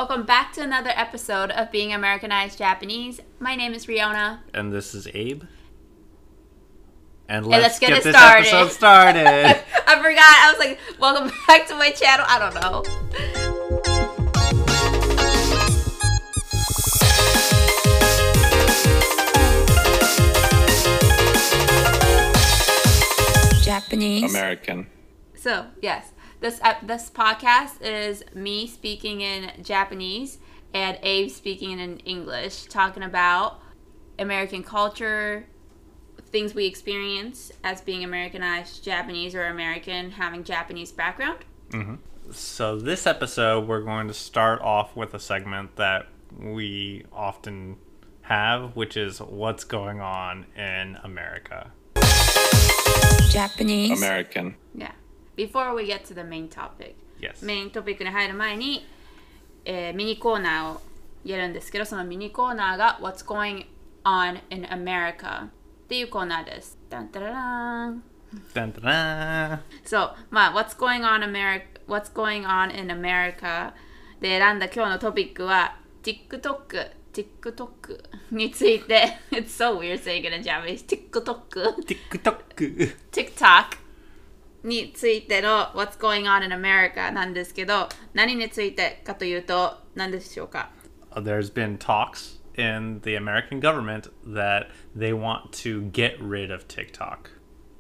Welcome back to another episode of Being Americanized Japanese. My name is Riona. And this is Abe. And let's get it this started. episode started. I forgot. I was like, welcome back to my channel. I don't know. Japanese. American. So, yes. This podcast is me speaking in Japanese and Abe speaking in English, talking about American culture, things we experience as being Americanized Japanese or American having Japanese background. Mm-hmm. So this episode, we're going to start off with a segment that we often have, which is what's going on in America. Japanese. American. Yeah. Before we get to the main topic. Yes. メイントピックに入る前に、ミニコーナーをやるんですけど、そのミニコーナーが What's Going On in America っていうコーナーです。ダンタララン。 ダンタラーン。 そう、まあ What's Going On in America で選んだ今日のトピックは TikTok についてIt's so weird saying it in Japanese. TikTok についての What's Going On in America なんですけど、何についてかというと何でしょうか？ There's been talks in the American government that they want to get rid of TikTok.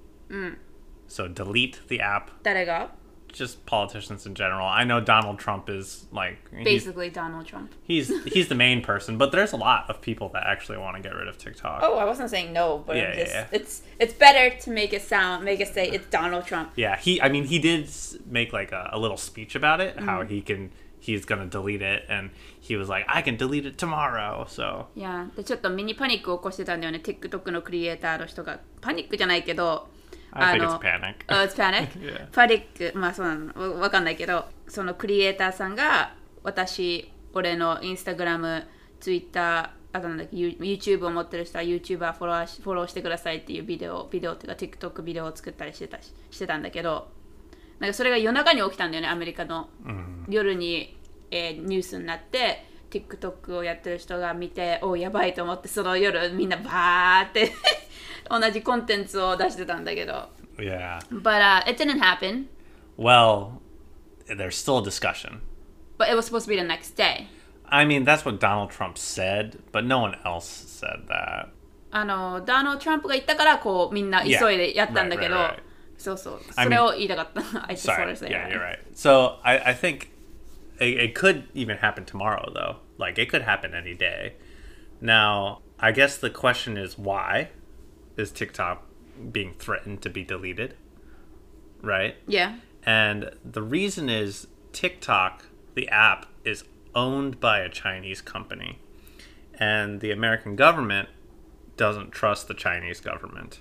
So delete the app. 誰が？ Just politicians in general. I know Donald Trump is like basically Donald Trump. He's the main person, but there's a lot of people that actually want to get rid of TikTok. Oh, I wasn't saying no, but yeah. It's better to make it say it's Donald Trump. Yeah, he did make like a little speech about it, how he's gonna delete it, and he was like, I can delete it tomorrow. So yeah, でちょっとミニパニックを起こしてたんだよね。TikTok のクリエイターの人がパニックじゃないけど。 I think it's panic. Oh, it's panic? Yeah. パニック、まあそうなの、わかんないけど、そのクリエイターさんが、俺のインスタグラム、ツイッター、あとなんだっけ、YouTube を持ってる人は YouTuber フォローしてくださいっていうビデオっていうか TikTok ビデオを作ったりしてたんだけど、なんかそれが夜中に起きたんだよね、アメリカの。夜に、ニュースになって、TikTok をやってる人が見て、おやばいと思って、その夜みんなバーって同じコンテンツを出してたんだけど。 Yeah. But it didn't happen. Well, there's still a discussion. But it was supposed to be the next day. I mean, that's what Donald Trump said, but no one else said that. ダナルド・トランプが言ったからこうみんな急いでやったんだけど、そうそう、それを言いたかった。I just wanted to say yeah, you're right. So I think it could even happen tomorrow, though. Like, it could happen any day. Now, I guess the question is why is TikTok being threatened to be deleted? Right? Yeah. And the reason is TikTok, the app, is owned by a Chinese company. And the American government doesn't trust the Chinese government.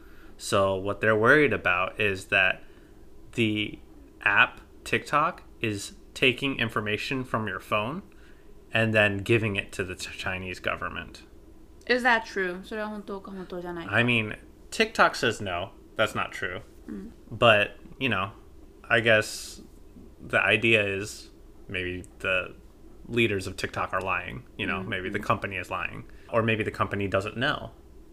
So what they're worried about is that the app, TikTok, is taking information from your phone and then giving it to the Chinese government. Is that true? それは本当か本当じゃないか。 I mean, TikTok says no, that's not true. But, you know, I guess the idea is maybe the leaders of TikTok are lying. You know, maybe the company is lying. Or maybe the company doesn't know.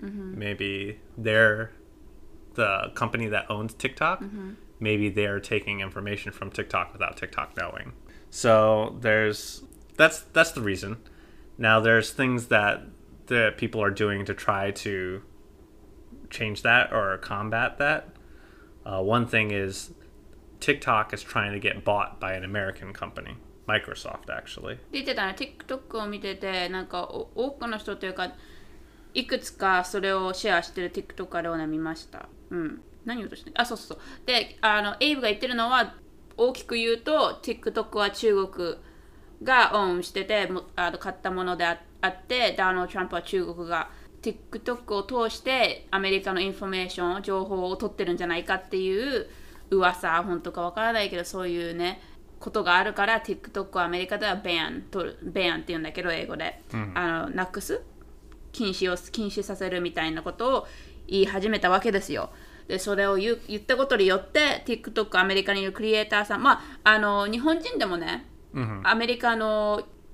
Maybe they're the company that owns TikTok. Maybe they're taking information from TikTok without TikTok knowing. So that's the reason. Now there's things that the people are doing to try to change that or combat that. One thing is TikTok is trying to get bought by an American company, Microsoft actually. 出てたね、TikTok を見てて、なんか多くの人というか、いくつかそれをシェアしてる TikTok あれをね見ました。何をとしてそうそう。で、エイブが言ってるのは、大きく言うと、TikTok は中国がオンしてて、買ったものであって、ダーナルド・トランプは中国が TikTok を通してアメリカのインフォメーション、情報を取ってるんじゃないかっていう噂、本当かわからないけど、そういうね、ことがあるから、TikTok はアメリカではベアンって言うんだけど、英語で。なくす禁止させるみたいなことを言い始めたわけですよ。でそれを言ったことによって TikTok アメリカにいるクリエイターさん日本人でもね、アメリカの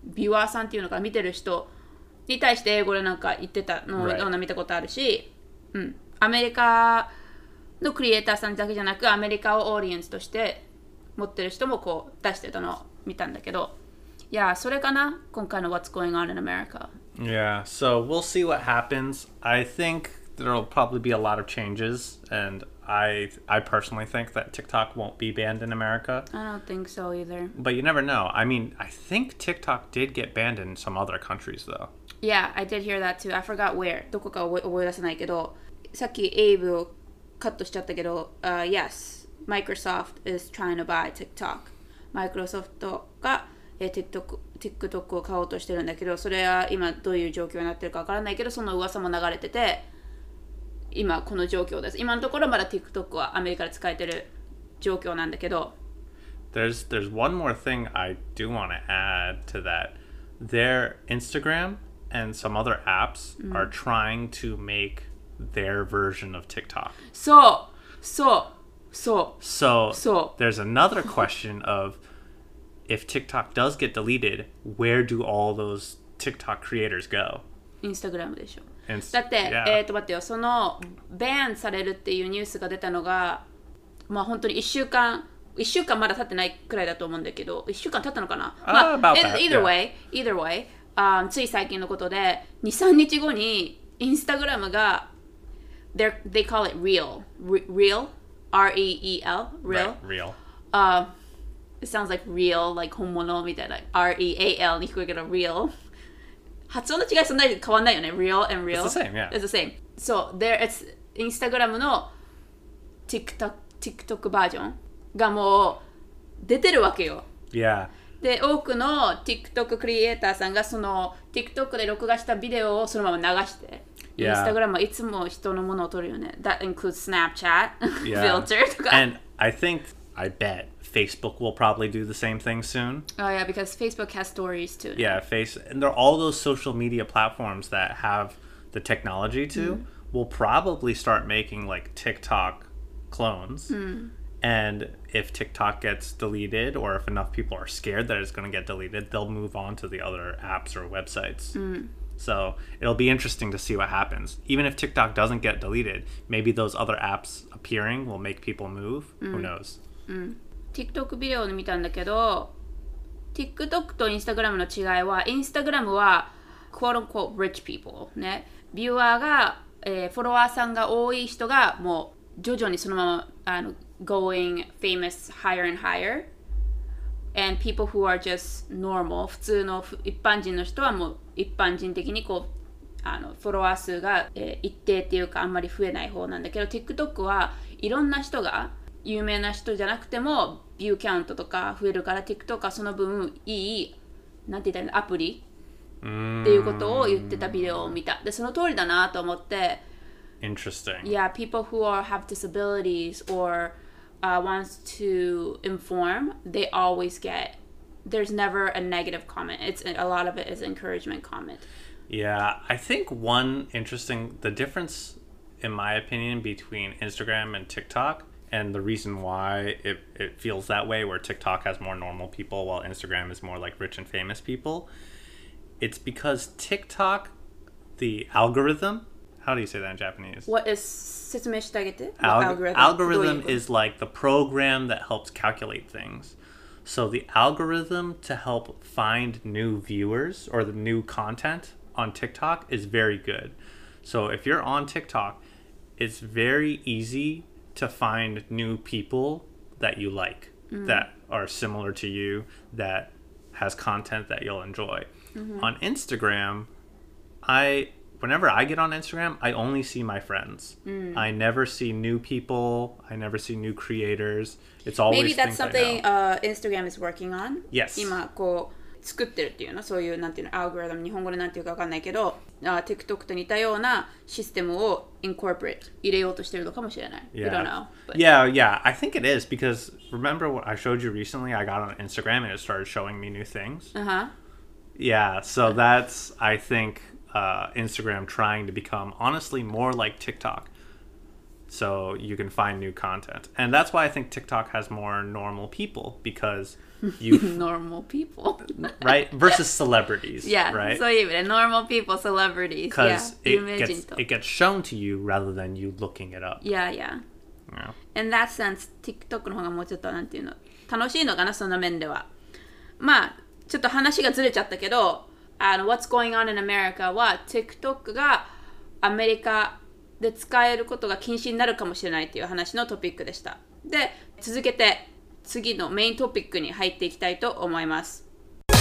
ビュアーさんっていうのか見てる人に対して英語でなんか言ってたのをような見たことあるし、アメリカのクリエイターさんだけじゃなくアメリカをオーディエンスとして持ってる人もこう出してたのを見たんだけど、いやそれかな今回の What's Going On in America. Yeah, so we'll see what happens. I think there'll probably be a lot of changes, and I personally think that TikTok won't be banned in America. I don't think so either. But you never know. I mean, I think TikTok did get banned in some other countries, though. Yeah, I did hear that too. I forgot where. どこか覚え出せないけど、さっきエイブをカットしちゃったけど、yes, Microsoft is trying to buy TikTok. Microsoft が、TikTok を買おうとしてるんだけど、それは今どういう状況になってるかわからないけど、その噂も流れてて、今この状況です。今のところまだ TikTok はアメリカで使えてる状況なんだけど。 There's one more thing I do want to add to that. Their Instagram and some other apps are trying to make their version of TikTok. So there's another question of if TikTok does get deleted, where do all those TikTok creators go? Instagram でしょ。 Inst- だって、 yeah. 待ってよ、そのバンされるっていうニュースが出たのが、まあ本当に1週間まだ経ってないくらいだと思うんだけど、1週間経ったのかな、まあ、either way、つい最近のことで、2、3日後にインスタグラムが、they call it real, R-E-E-L, real. Right, real. It sounds like real, like 本物みたいな、R-E-A-L に聞こえるけど、real。発音の違いそんなに変わんないよね。Real and real. It's the same, yeah. It's the same. So, it's Instagram の TikTok バージョンがもう出てるわけよ。 Yeah. で、多くの TikTok クリエイターさんがその TikTok で録画したビデオをそのまま流して、 Yeah. Instagram はいつも人のものを撮るよね。That includes Snapchat, Yeah. filter とか。 And I bet Facebook will probably do the same thing soon. Oh yeah, because Facebook has stories too. Yeah, and they're all those social media platforms that have the technology will probably start making like TikTok clones. And if TikTok gets deleted, or if enough people are scared that it's going to get deleted, they'll move on to the other apps or websites. So it'll be interesting to see what happens. Even if TikTok doesn't get deleted, maybe those other apps appearing will make people move. Who knows? TikTok ビデオで見たんだけど、TikTok と Instagram の違いは、Instagram は quote unquote rich people ね、ビューアーが、フォロワーさんが多い人がもう徐々にそのままgoing famous higher and higher, and people who are just normal 普通の一般人の人はもう一般人的にこうフォロワー数が、一定っていうかあんまり増えない方なんだけど、 TikTok はいろんな人が有名な人じゃなくてもビューキャウントとか増えるから、 TikTok はその分いいなんて言ったらアプリっていうことを言ってたビデオを見た。でその通りだなと思って。 Interesting. Yeah, people who have disabilities or wants to inform, they always get, there's never a negative comment. It's a lot of it is encouragement comment. Yeah, I think the difference in my opinion between Instagram and TikTok, and the reason why it feels that way, where TikTok has more normal people while Instagram is more like rich and famous people, it's because TikTok, the algorithm, how do you say that in Japanese? What is 説明してあげて? Algorithm is like the program that helps calculate things. So the algorithm to help find new viewers or the new content on TikTok is very good. So if you're on TikTok, it's very easy to find new people that you like, that are similar to you, that has content that you'll enjoy. On Instagram, whenever I get on Instagram, I only see my friends. I never see new people. I never see new creators. It's always Maybe that's things I something know. Instagram is working on. Yes. 今こう作ってるっていうの、そういうなんていうの、アルゴリズム、日本語でなんていうかわかんないけど、TikTok と似たようなシステムを incorporate 入れようとしてるのかもしれない。You don't know. But... Yeah, I think it is, because remember what I showed you recently? I got on Instagram and it started showing me new things. Yeah, so that's, I think, Instagram trying to become honestly more like TikTok. so you can find new content. And that's why I think TikTok has more normal people, because you normal people. right, versus celebrities. Yeah, right. そういう意味で normal people, celebrities. Because yeah, 有名人と。 it gets shown to you rather than you looking it up. Yeah, yeah. Yeah. In that sense, TikTok の方がもうちょっとなんていうの楽しいのかな、その面では。まあちょっと話がずれちゃったけど、What's Going On in America は TikTok がアメリカで使えることが禁止になるかもしれないっていう話のトピックでした。で、続けて次のメイントピックに入っていきたいと思います。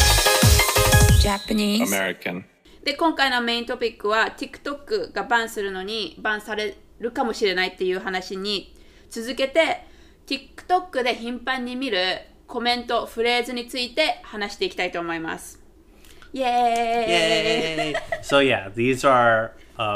Japanese American. で、今回のメイントピックは TikTok がバンするのにバンされるかもしれないっていう話に続けて TikTok で頻繁に見るコメント、フレーズについて話していきたいと思います。イエーイ Yay! So yeah, these are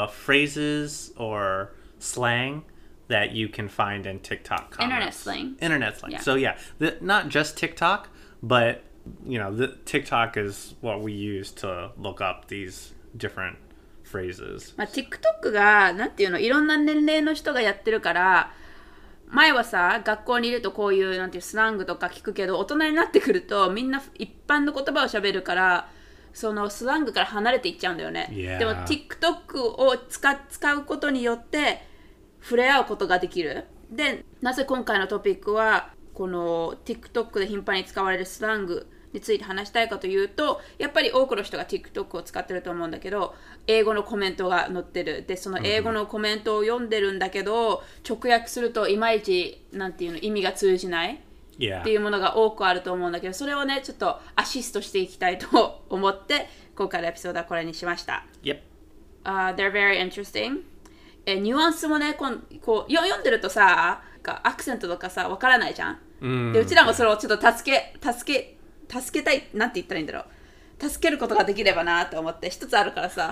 phrases or slang that you can find in TikTok comments. Internet slang. Internet slang. Yeah. So yeah, not just TikTok, but you know, the TikTok is what we use to look up these different phrases. まあ、TikTok がなんていうのいろんな年齢の人がやってるから前はさ学校にいるとこういうなんていうスラングとか聞くけど大人になってくるとみんな一般の言葉を喋るからそのスラングから離れていっちゃうんだよね。 Yeah. でも TikTok を使うことによって触れ合うことができる。で、なぜ今回のトピックはこの TikTok で頻繁に使われるスラングについて話したいかというと、やっぱり多くの人が TikTok を使ってると思うんだけど、英語のコメントが載ってる。で、その英語のコメントを読んでるんだけど、直訳するといまいちなんていうの意味が通じない。 Yeah. っていうものが多くあると思うんだけど、それをねちょっとアシストしていきたいと思って今回のエピソードはこれにしました。 Yep. They're very interesting. ニュアンスもねこう読んでるとさアクセントとかさわからないじゃん。でうちらもそれをちょっと助けたいなんて言ったらいいんだろう。助けることができればなと思って一つあるからさ。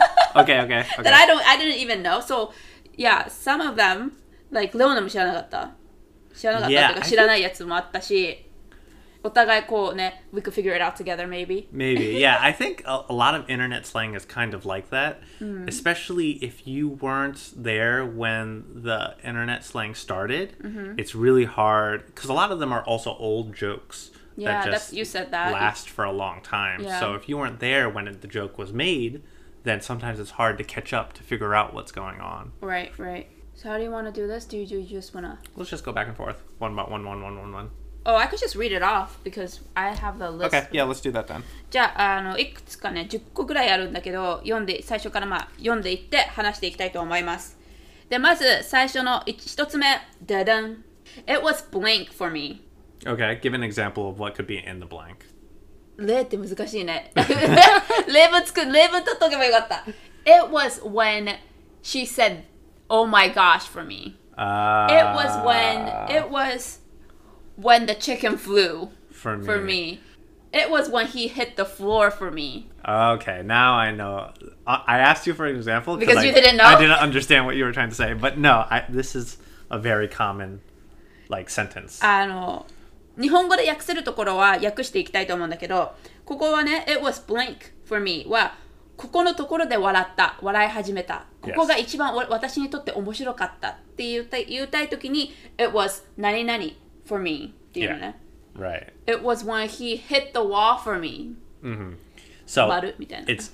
Okay. That I didn't even know. So yeah, some of them like レオナも知らなかった。知らなかったっていうか知らないやつもあったし、お互いこうね、we could figure it out together maybe. Maybe, yeah. I think a lot of internet slang is kind of like that, especially if you weren't there when the internet slang started. It's really hard because a lot of them are also old jokes Yeah, that just you said that. last for a long time. Yeah. So if you weren't there when the joke was made, then sometimes it's hard to catch up to figure out what's going on. Right. So how do you want to do this? Do you just want to... Let's just go back and forth. One. Oh, I could just read it off because I have the list. Okay, yeah, let's do that then. じゃあ、いくつかね、10個ぐらいあるんだけど、最初から読んでいって話していきたいと思います。で、まず最初の一つ目、ダダン。It was blank for me. Okay, give an example of what could be in the blank. 例って難しいね。例文取っとけばよかった。It was when she said, "Oh my gosh" for me. It was when the chicken flew for me. It was when he hit the floor for me. Okay, now I know. I asked you for an example because you didn't know. I didn't understand what you were trying to say, but no, this is a very common like sentence. 日本語で訳せるところは訳していきたいと思うんだけど、ここはね、It was blank for me はここのところで笑い始めた。ここが一番私にとって面白かったって言いたいときに It was 何々 for me っていうのね。 Right. It was when he hit the wall for me. So みたいな。 it's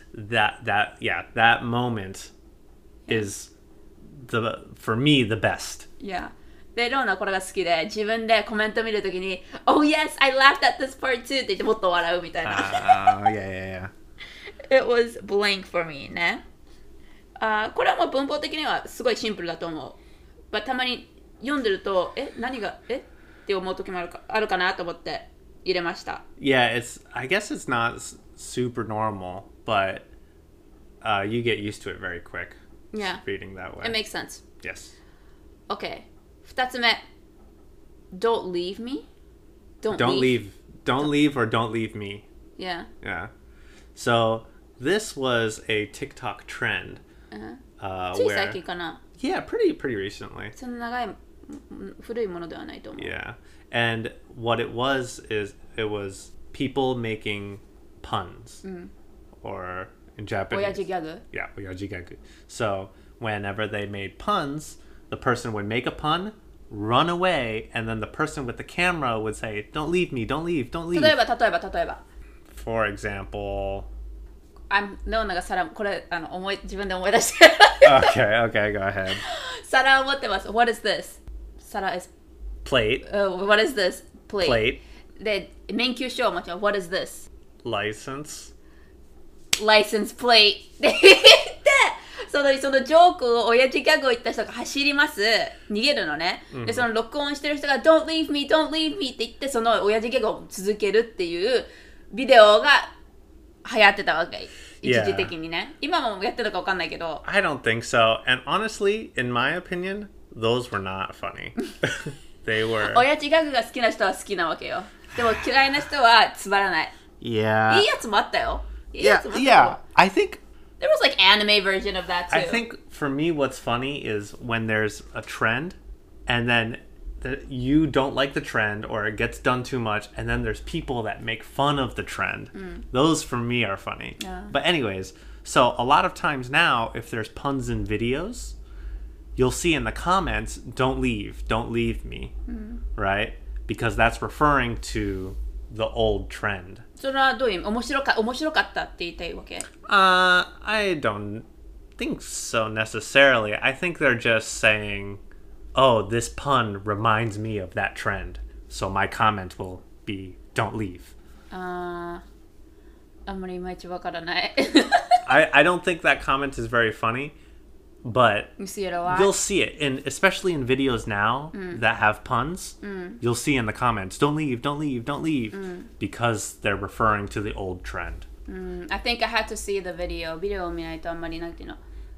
that moment is for me the best. Yeah. で、ローナこれが好きで、自分でコメント見るときに Oh yes, I laughed at this part too って言ってもっと笑うみたいな。 Yeah. It was blank for me ね。これはもう文法的にはすごいシンプルだと思う。たまに読んでると、何がって思う時もあるかなと思って入れました。 Yeah, I guess it's not super normal, but you get used to it very quick. Yeah. Reading that way. It makes sense. Yes. Okay. 2つ目。Don't leave me? Don't leave or don't leave me. Yeah. So this was a TikTok trend. つい最近かな。 Yeah, pretty recently. そんな長い古いものではないと思う。 Yeah. And what it was is it was people making puns. Or in Japanese. 親父ギャグ Yeah, oyaji gagu. So whenever they made puns, the person would make a pun, run away, and then the person with the camera would say, "Don't leave me, don't leave, don't leave." 例えば例えば For example, レオナが皿これ自分で思い出して okay, go ahead. 皿を持ってます What is this? 皿 is Plate, What is this? plate, で免許証を持ちます What is this? license. License plate で言ってそのジョークを親父ギャグを言った人が走ります逃げるのね、でその録音してる人が Don't leave me, don't leave me って言ってその親父ギャグを続けるっていうビデオが流行ってたわけ一時的にね、今もやってるか分かんないけど I don't think so. And honestly, in my opinion, those were not funny. They were. 親父ギャグが好きな人は好きなわけよでも嫌いな人はつまらない Yeah. いいやつもあったよいいや Yeah, つもあったよ yeah. I think There was like anime version of that too. I think for me, what's funny is when there's a trend, and then you don't like the trend, or it gets done too much, and then there's people that make fun of the trend. Those for me are funny. Yeah. But anyways, so a lot of times now, if there's puns in videos, you'll see in the comments, don't leave me," right? Because that's referring to the old trend. それはどういう意味面白かったって言いたいわけ I don't think so necessarily. I think they're just saying, "Oh, this pun reminds me of that trend." So my comment will be, "Don't leave." あんまりいまいちわからない I don't think that comment is very funny, but You see it a lot? you'll see it, especially in videos now that have puns. You'll see in the comments, "Don't leave, don't leave, don't leave," because they're referring to the old trend. I think I had to see the video ビデオを見ないとあんまりなんていうの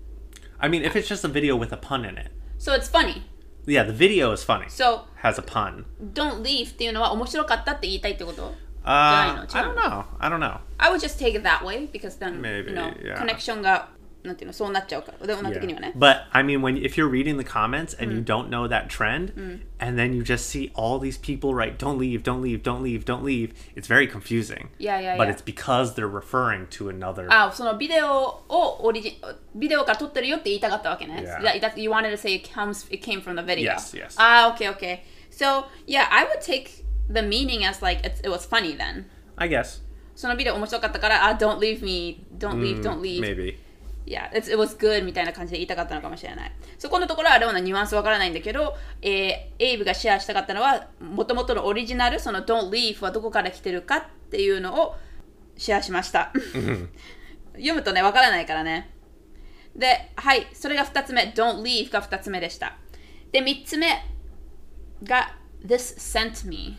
I mean, if it's just a video with a pun in it. So it's funny Yeah, the video is funny. So Has a pun. don't leave っていうのは面白かったって言いたいってこと I don't know. I don't know. I would just take it that way because then Maybe, you know, yeah. コネクションがなんていうのそうなっちゃうからでも的にはね But I mean, if you're reading the comments and you don't know that trend, and then you just see all these people write, "Don't leave, don't leave, don't leave, don't leave," it's very confusing. Yeah. But it's because they're referring to another. そのビデオから撮ってるよって言いたかったわけね Yeah. that you wanted to say it came from the video Yes. okay So yeah, I would take the meaning as like it was funny then I guess. そのビデオ面白かったからdon't leave me don't leave Maybe. Yeah, it was good みたいな感じで言いたかったのかもしれないそこのところはレオナニュアンスわからないんだけど、エイブがシェアしたかったのは元々のオリジナルその Don't leave はどこから来てるかっていうのをシェアしました読むとねわからないからねで、はいそれが2つ目 Don't leave が2つ目でしたで3つ目が This sent me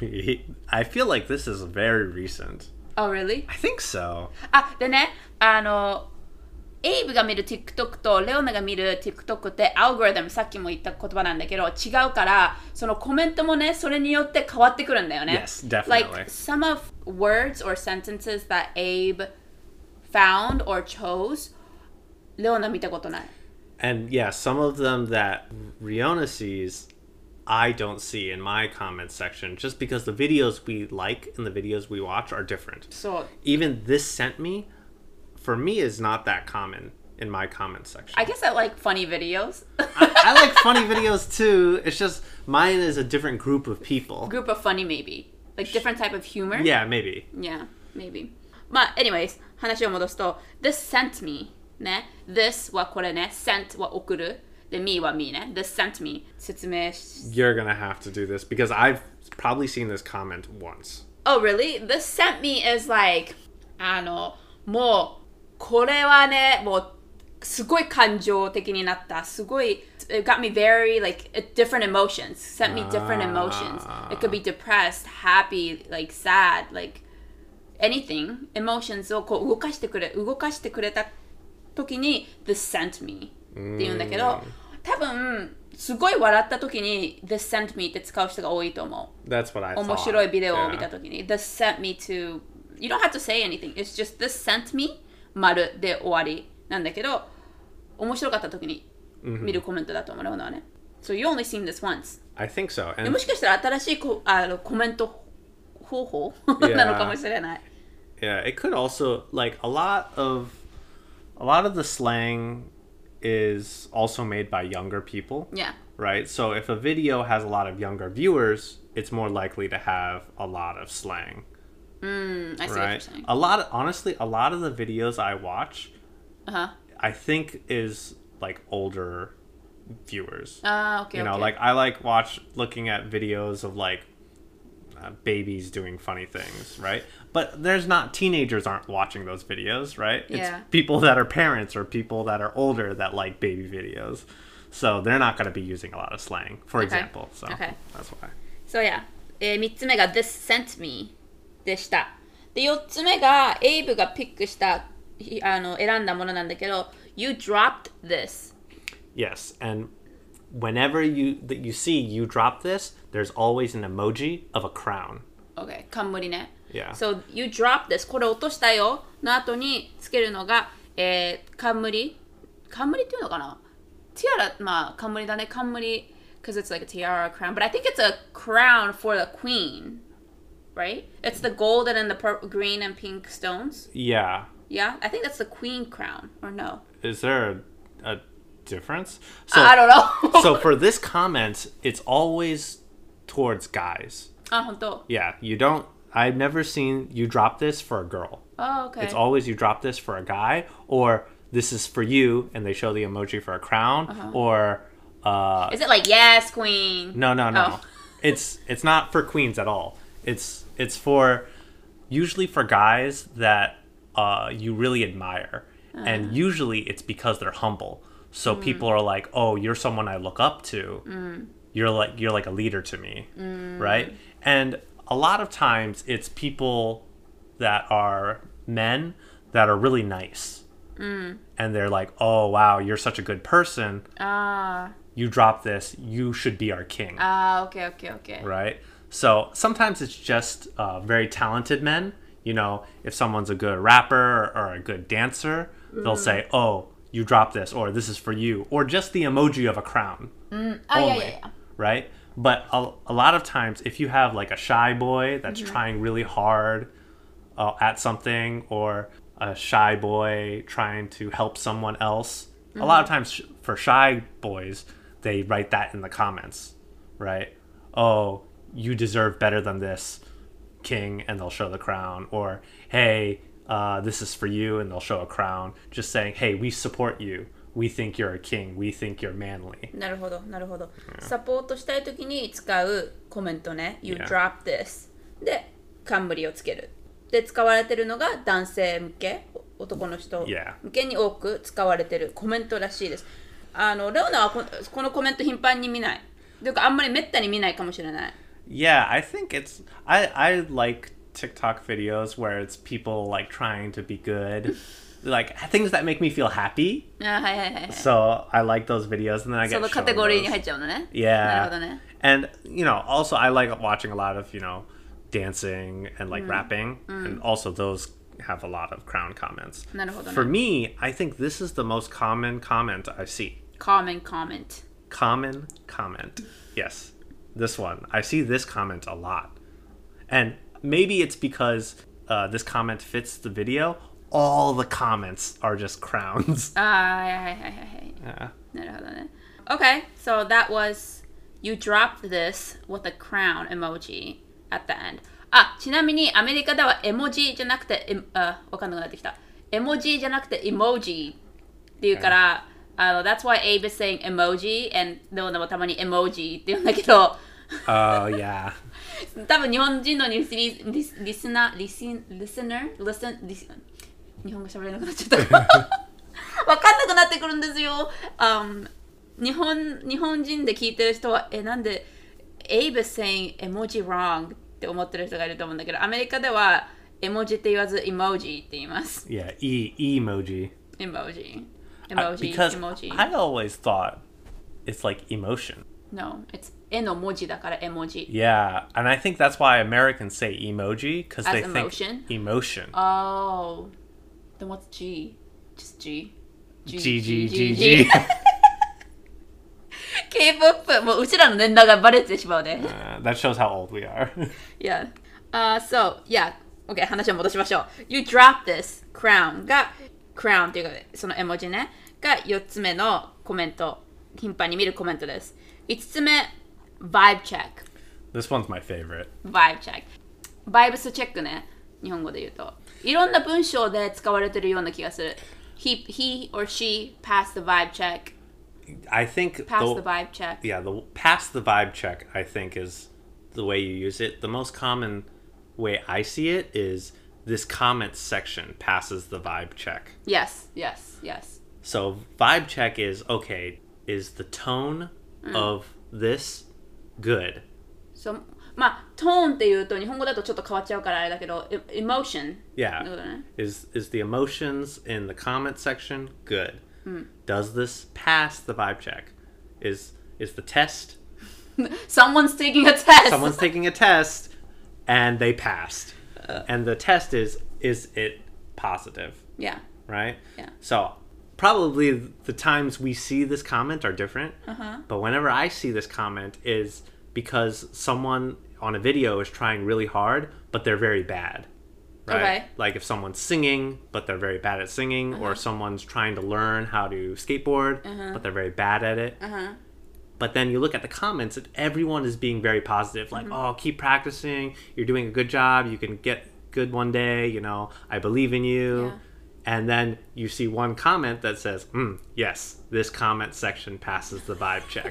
I feel like this is very recent. Oh really? I think so. でねエイブが見る TikTok とレオナが見る TikTok ってアルゴリズムさっきも言った言葉なんだけど違うからそのコメントもねそれによって変わってくるんだよね Yes, definitely. Like some of words or sentences that Abe found or chose レオナ見たことない And yeah, some of them that Riona sees, I don't see in my comments section just because the videos we like and the videos we watch are different. そう Even this sent me, for me, is not that common in my comment section. I guess I like funny videos I like funny videos too. It's just mine is a different group of people. Group of funny maybe Like different type of humor Yeah, maybe. Yeah, maybe まあ anyways 話を戻すと This sent me ね This はこれね Sent は送るで Me は Me ね This sent me 説明し You're gonna have to do this because I've probably seen this comment once. Oh really? This sent me is like もうこれはねもうすごい感情的になったすごい It got me very like different emotions sent me different emotions It could be depressed happy like sad like anything emotions をこう動かしてくれた時に This sent me って言うんだけど多分すごい笑った時に This sent me って使う人が多いと思う That's what I thought. 面白いビデオを見た時に This sent me to You don't have to say anything It's just This sent me 丸で終わりなんだけど面白かった時に見るコメントだと思うのはね So you only seen this once I think so. で And もしかしたら新しいコメント方法なのかもしれない yeah, it could also like a lot of the slang is also made by younger people, Yeah. right? So if a video has a lot of younger viewers, it's more likely to have a lot of slang, I see what you're right? saying. Honestly, a lot of the videos I watch, Uh-huh. I think is like older viewers. Okay, You know, okay. like I looking at videos of like babies doing funny things, right? But there's not teenagers aren't watching those videos, right? Yeah. It's people that are parents or people that are older that like baby videos. So they're not going to be using a lot of slang, for example. So Okay. that's why. So yeah. 3つ目が This sent me でした。で、4つ目がエイブがピックした選んだものなんだけど You dropped this. Yes, and whenever you see you drop this, there's always an emoji of a crown. Okay, 冠ね。 Yeah. So, you dropped this. これ落としたよの後につけるのが、冠っていうのかなティアラ、まあ、冠だね。冠 because it's like a tiara crown. But I think it's a crown for the queen. Right? It's the golden and the green and pink stones. Yeah. Yeah? I think that's the queen crown. Or no? Is there a difference? So, I don't know. so for this comment, it's always towards guys. 本当 Yeah, I've never seen you drop this for a girl. Oh, okay. It's always you drop this for a guy, or this is for you, and they show the emoji for a crown, or Is it like, yes, queen? no. Oh. It's not for queens at all. It's for usually for guys that you really admire, and usually it's because they're humble. So people are like, "Oh, you're someone I look up to. You're like a leader to me, right?" And a lot of times it's people that are men that are really nice, and they're like, "Oh, wow, you're such a good person. You drop this. You should be our king." Okay. Right? So sometimes it's just very talented men. You know, if someone's a good rapper or a good dancer, they'll say, "Oh, you drop this," or "This is for you," or just the emoji of a crown. Only, yeah. right? But a lot of times, if you have like a shy boy that's trying really hard at something, or a shy boy trying to help someone else, a lot of times for shy boys, they write that in the comments, right? "Oh, you deserve better than this, king," and they'll show the crown. Or, "Hey, this is for you," and they'll show a crown. Just saying, "Hey, we support you. We think you're a king. We think you're manly." なるほど。サポートしたいときに使うコメントね。You Yeah. drop this. で、冠をつける。で、使われてるのが男性向け、男の人 Yeah. 向けに多く使われてるコメントらしいです。レオナはこのコメント頻繁に見ない。というか、あんまりめったに見ないかもしれない。 Yeah, I think I like TikTok videos where it's people like trying to be good. Like things that make me feel happy. はい。 So I like those videos, and then I そ get の shown カテゴリーに those. 入っちゃうのね。なる Yeah. ほどね。 And also I like watching a lot of dancing and like rapping, and also those have a lot of crown comments. なるほどね。 For me, I think this is the most common comment I see. Common comment. Common comment. Yes. This one. I see this comment a lot. And maybe it's because this comment fits the video. All the comments are just crowns. はい。 Yeah. なるほどね。Okay, so that was you dropped this with a crown emoji at the end. ちなみにアメリカでは絵文字じゃなくて、わかんなくなってきた。絵文字じゃなくて emoji っていうから、that's why Abe is saying emoji and でもたまに emoji って言うんだけど、 Oh, yeah. 多分日本人のリスナー、日本語喋れなくなっちゃった。わかんなくなってくるんですよ。日本人で聞いてる人は、なんで Abe is saying emoji wrong って思ってる人がいると思うんだけど、アメリカでは絵文字って言わず emoji って言います。 Yeah, emoji. Emoji. Because emoji. I always thought it's like emotion. No, it's 絵の文字だから絵文字。 Yeah, and I think that's why Americans say emoji, because As they emotion? think emotion. Oh. Then what's G? Just G. G. K-POP もううちらの年代がバレてしまうね。 That shows how old we are. Yeah. So, yeah. Okay, 話を戻しましょう。You drop this crown が crown っていうかその絵文字ね。 が4つ目のコメント。頻繁に見るコメントです。5つ目、vibe check。 This one's my favorite. vibe check。バイブスチェックね。日本語で言うと。いろんな文章で使われてるような気がする。He or she passed the vibe check. I think Pass the vibe check. Yeah, the pass the vibe check, I think, is the way you use it. The most common way I see it is this comment section passes the vibe check. Yes. So vibe check is, okay, is the tone of this good? So, まあ、トーンっていうと日本語だとちょっと変わっちゃうからあれだけど、emotion. Yeah. ね、 Is the emotions in the comment section good? Does this pass the vibe check? Is the test? Someone's taking a test. Someone's taking a test and they passed. And the test is it positive? Yeah. Right? Yeah. So probably the times we see this comment are different. But whenever I see this comment is because someone on a video is trying really hard, but they're very bad. Right? Okay. Like if someone's singing, but they're very bad at singing, or someone's trying to learn how to skateboard, but they're very bad at it. But then you look at the comments and everyone is being very positive. Like, oh, keep practicing. You're doing a good job. You can get good one day. You know, I believe in you. Yeah. And then you see one comment that says, yes, this comment section passes the vibe check.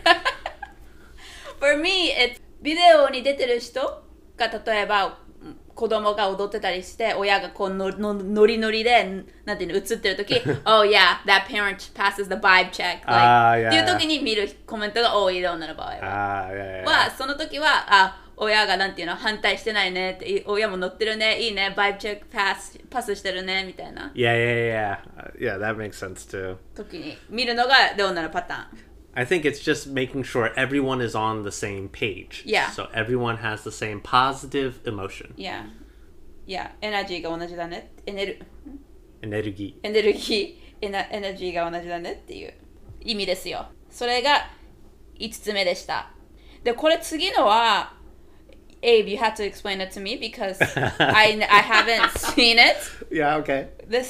For me, it's ビデオに出てる人が例えば子供が踊ってたりして親がこうノリノリでなんていうの映ってる時Oh yeah, that parent passes the vibe check、 yeah. っていう時に見るコメントが多いような場合は、その時は親がなんていうの反対してないねって親も乗ってるねいいね vibe check パスしてるねみたいな Yeah, that makes sense too. 時に見るのがレオナのパターン。 I think it's just making sure everyone is on the same page. Yeah. So everyone has the same positive emotion. Yeah. エナジーが同じだね。エネルギーが同じだねっていう意味ですよ。それが5つ目でした。で、これ次のはAbe, you have to explain it to me because I haven't seen it. Yeah, okay.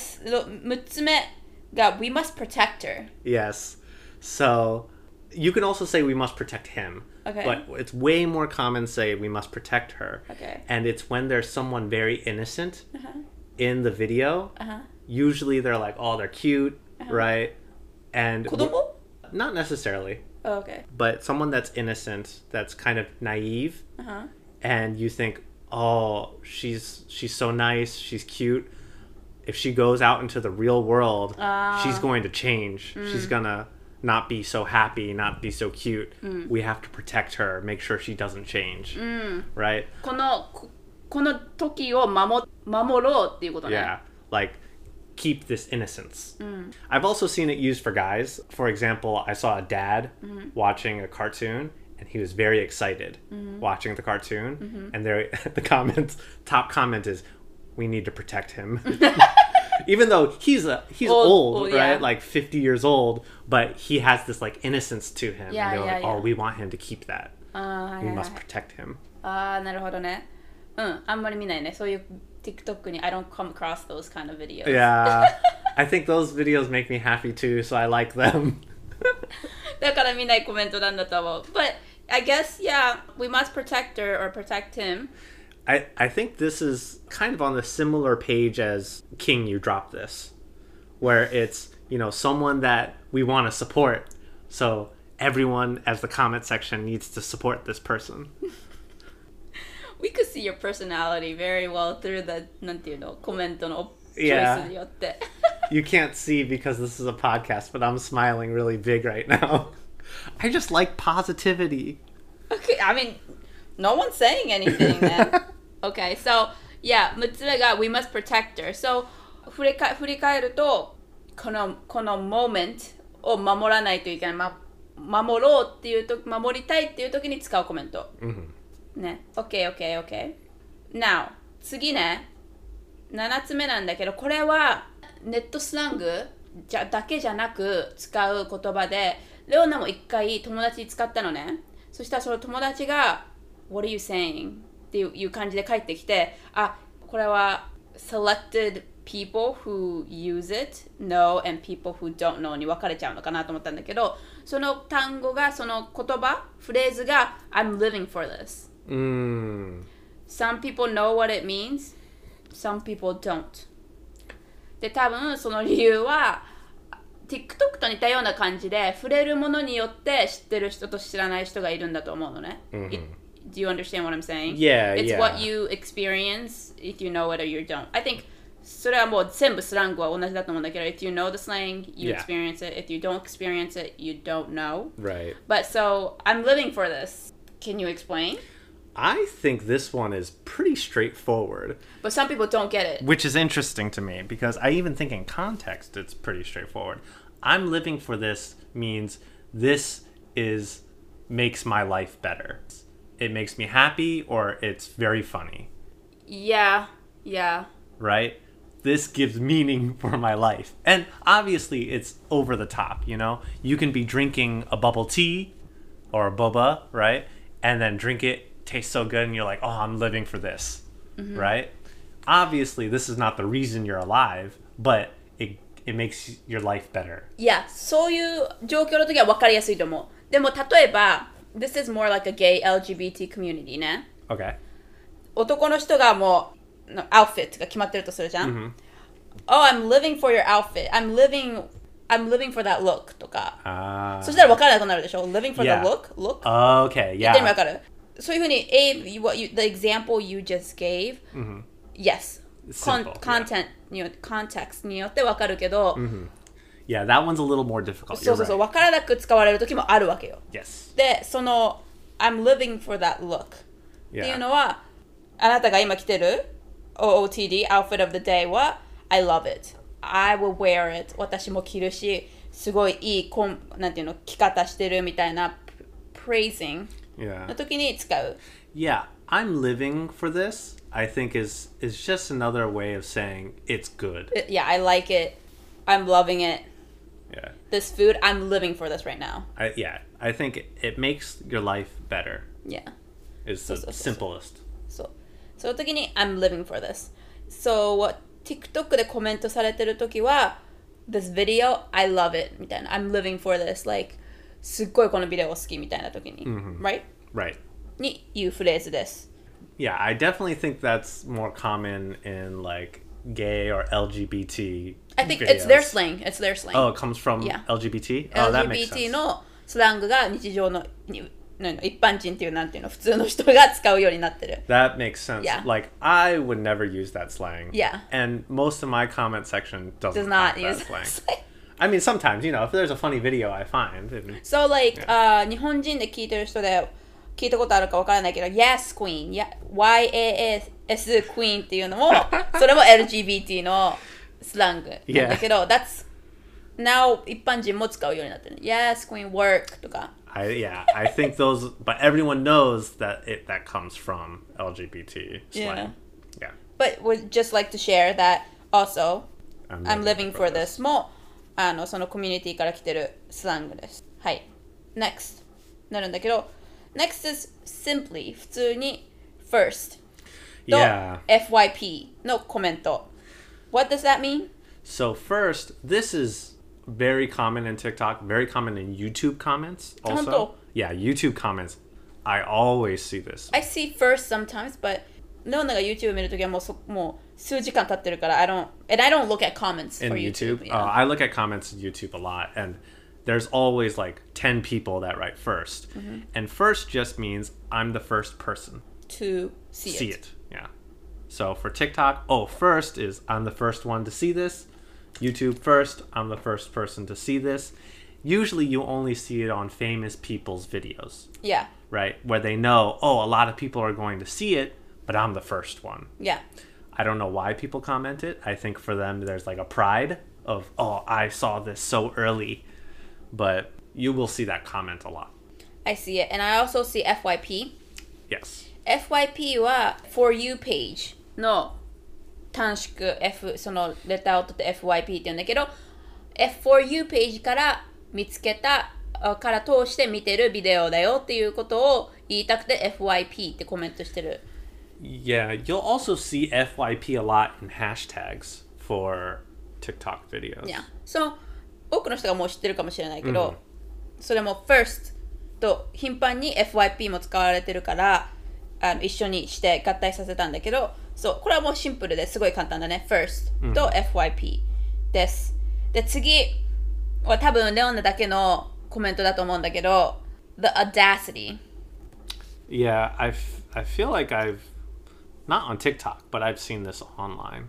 6つ目が We must protect her. Yes. So you can also say we must protect him. Okay. But it's way more common to say we must protect her. Okay. And it's when there's someone very innocent in the video. Usually they're like, oh, they're cute, right? And 子供? Not necessarily. Oh, okay. But someone that's innocent, that's kind of naive. And you think, oh, she's so nice, she's cute. If she goes out into the real world, she's going to change. She's gonna not be so happy, not be so cute. We have to protect her, make sure she doesn't change. Right? この時を守ろうっていうことね。 Yeah. Like, keep this innocence. I've also seen it used for guys. For example, I saw a dad watching a cartoon, and he was very excited watching the cartoon. And the top comment is, we need to protect him. Even though he's old, right? Like 50 years old, but he has this like innocence to him. And they're like, oh, we want him to keep that. We must protect him. なるほどね。あんまり見ないね。そういう TikTok に I don't come across those kind of videos. Yeah. I think those videos make me happy too, so I like them. だから見ないコメントなんだと思う。But I guess, yeah, we must protect her or protect him. I think this is kind of on the similar page as King, you dropped this, where it's, someone that we want to support. So everyone, as the comment section, needs to support this person. We could see your personality very well through the, なんていうの、コメントのチョイスによって。 You can't see because this is a podcast, but I'm smiling really big right now. I just like positivity. Okay, I mean, no one's saying anything then. Okay, so, yeah, 6つ目が We must protect her. So, 振り返ると、この moment を守らないといけない。守ろうっていうと、守りたいっていう時に使うコメント。ね。Okay. Now, 次ね、7つ目なんだけど、これはネットスラングだけじゃなく使う言葉で、レオナも一回友達に使ったのね。そしたらその友達が What are you saying? っていう感じで帰ってきて、これは selected people who use it know and people who don't know に分かれちゃうのかなと思ったんだけど、その単語が、その言葉、フレーズが I'm living for this. Some people know what it means, some people don't. で、多分その理由は TikTok と似たような感じで触れるものによって知ってる人と知らない人がいるんだと思うのね。Do you understand what I'm saying? Yeah, It's yeah. what you experience if you know it or you don't. I think それはもう全部スラングは同じだと思うんだけど If you know the slang, you Yeah. experience it. If you don't experience it, you don't know. Right. But so, I'm living for this. Can you explain? I think this one is pretty straightforward. But some people don't get it. Which is interesting to me because I even think in context it's pretty straightforward. I'm living for this means this is makes my life better. It makes me happy or it's very funny. Yeah. Right? This gives meaning for my life. And obviously it's over the top, you know? You can be drinking a bubble tea or a boba, right? And then drink it, tastes so good and you're like, "Oh, I'm living for this." Right? Obviously this is not the reason you're alive, but it makes your life better. いや、そういう状況の時は分かりやすいと思う。でも例えば、This is more like a gay LGBT community ね。 Okay. 男の人がもうアウフィットが決まってるとするじゃん。Oh, I'm living for your outfit. I'm living for that look とか。そしたら分からなくなるでしょ ?Living for the Yeah. look? Okay, 言ってみ分 yeah. かるそういうふうに、the example you just gave, yes. Simple, Content によって、context によって分かるけど、 Yeah, that one's a little more difficult. そう You're そうそう、 right. 分からなく使われる時もあるわけよ。 Yes. で、その、I'm living for that look っていう Yeah. のは、あなたが今着てる OOTD, Outfit of the Day は I love it. I will wear it. 私も着るし、すごいいいなんていうの、着方してるみたいな praising Yeah. の時に使う。 Yeah, I'm living for this. I think is just another way of saying it's good. Yeah, I like it. I'm loving it. Yeah. This food, I'm living for this right now. I think it makes your life better. Yeah. Is the So. simplest. そう。その時に I'm living for this. So, TikTok でコメントされてる時は This video, I love it みたいな I'm living for this. Like すっごいこのビデオ好きみたいな時に、right? Right. に言うフレーズです。 Yeah, I definitely think that's more common in like gay or LGBT I think videos. it's their slang. It's their slang. Oh, it comes from Yeah. LGBT? Oh, that makes LGBT sense. のスラングが日常の一般人っていうなんていうの普通の人が使うようになってる。 That makes sense. Yeah. Like, I would never use that slang. Yeah. And most of my comment section doesn't Does not have use that slang. I mean, sometimes, if there's a funny video I find. So like、日本人で聞いてる人で聞いたことあるかわからないけど Yes Queen、YAS Queen っていうのもそれも LGBT のスラングなんだけど、That's now 一般人も使うようになってる。Yes Queen work とか。 I think those, but everyone knows that that comes from LGBT slang. Yeah. But would just like to share that also I'm living for this もそのコミュニティから来てるスラングです。はい。Next なるんだけど Next is simply 普通に first と Yeah. FYP のコメント。What does that mean? So first, this is very common in TikTok, very common in YouTube comments also. 本当? Yeah, YouTube comments. I always see this. I see first sometimes, but ノーナが YouTube 見るときはもう数時間経ってるから I don't look at comments In for YouTube? YouTube. I look at comments in YouTube a lot, and there's always like 10 people that write 1st. And first just means I'm the first person. To see it. Yeah. So for TikTok, first is I'm the first one to see this. YouTube first, I'm the first person to see this. Usually you only see it on famous people's videos. Yeah. Right? Where they know, a lot of people are going to see it, but I'm the first one. Yeah. I don't know why people comment it. I think for them there's like a pride of, I saw this so early. But you will see that comment a lot. I see it. And I also see FYP. Yes. FYP は For You page の短縮 そのレターを取って FYP って言うんだけど For You page から見つけたから通して見てるビデオだよっていうことを言いたくて FYP ってコメントしてる。 Yeah, you'll also see FYP a lot in hashtags for TikTok videos. Yeah. 多くの人がもう知ってるかもしれないけど、それも first と頻繁に FYP も使われてるから一緒にして合体させたんだけど、そうこれはもうシンプルですごい簡単だね。first と FYP です。で次は多分レオナだけのコメントだと思うんだけど The audacity. Yeah, I feel like I've not on TikTok, but I've seen this online.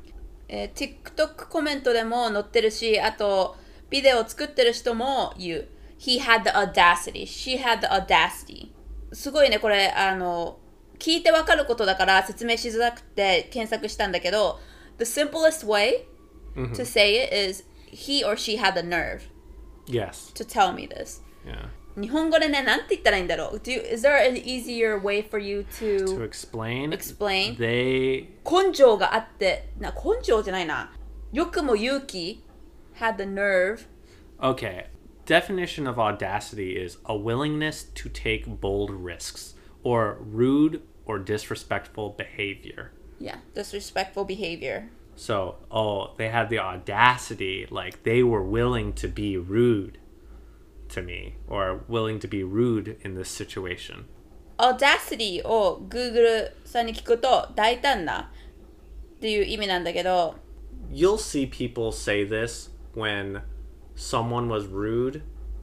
TikTok コメントでも載ってるし、あとビデオを作ってる人も言う。He had the audacity. She had the audacity. すごいね、これ聞いてわかることだから説明しづらくて検索したんだけど The simplest way to say it is he or she had the nerve Yes. to tell me this. Yeah. 日本語でね、なんて言ったらいいんだろう。Is there an easier way for you To explain? They 根性があって根性じゃないな。よくも勇気 had the nerve. Okay. Definition of audacity is a willingness to take bold risks or rude or disrespectful behavior. Yeah, disrespectful behavior. So, they had the audacity, like they were willing to be rude to me or willing to be rude in this situation. Audacity を Google さんに聞くと大胆なっていう意味なんだけど You'll see people say this when someone was rude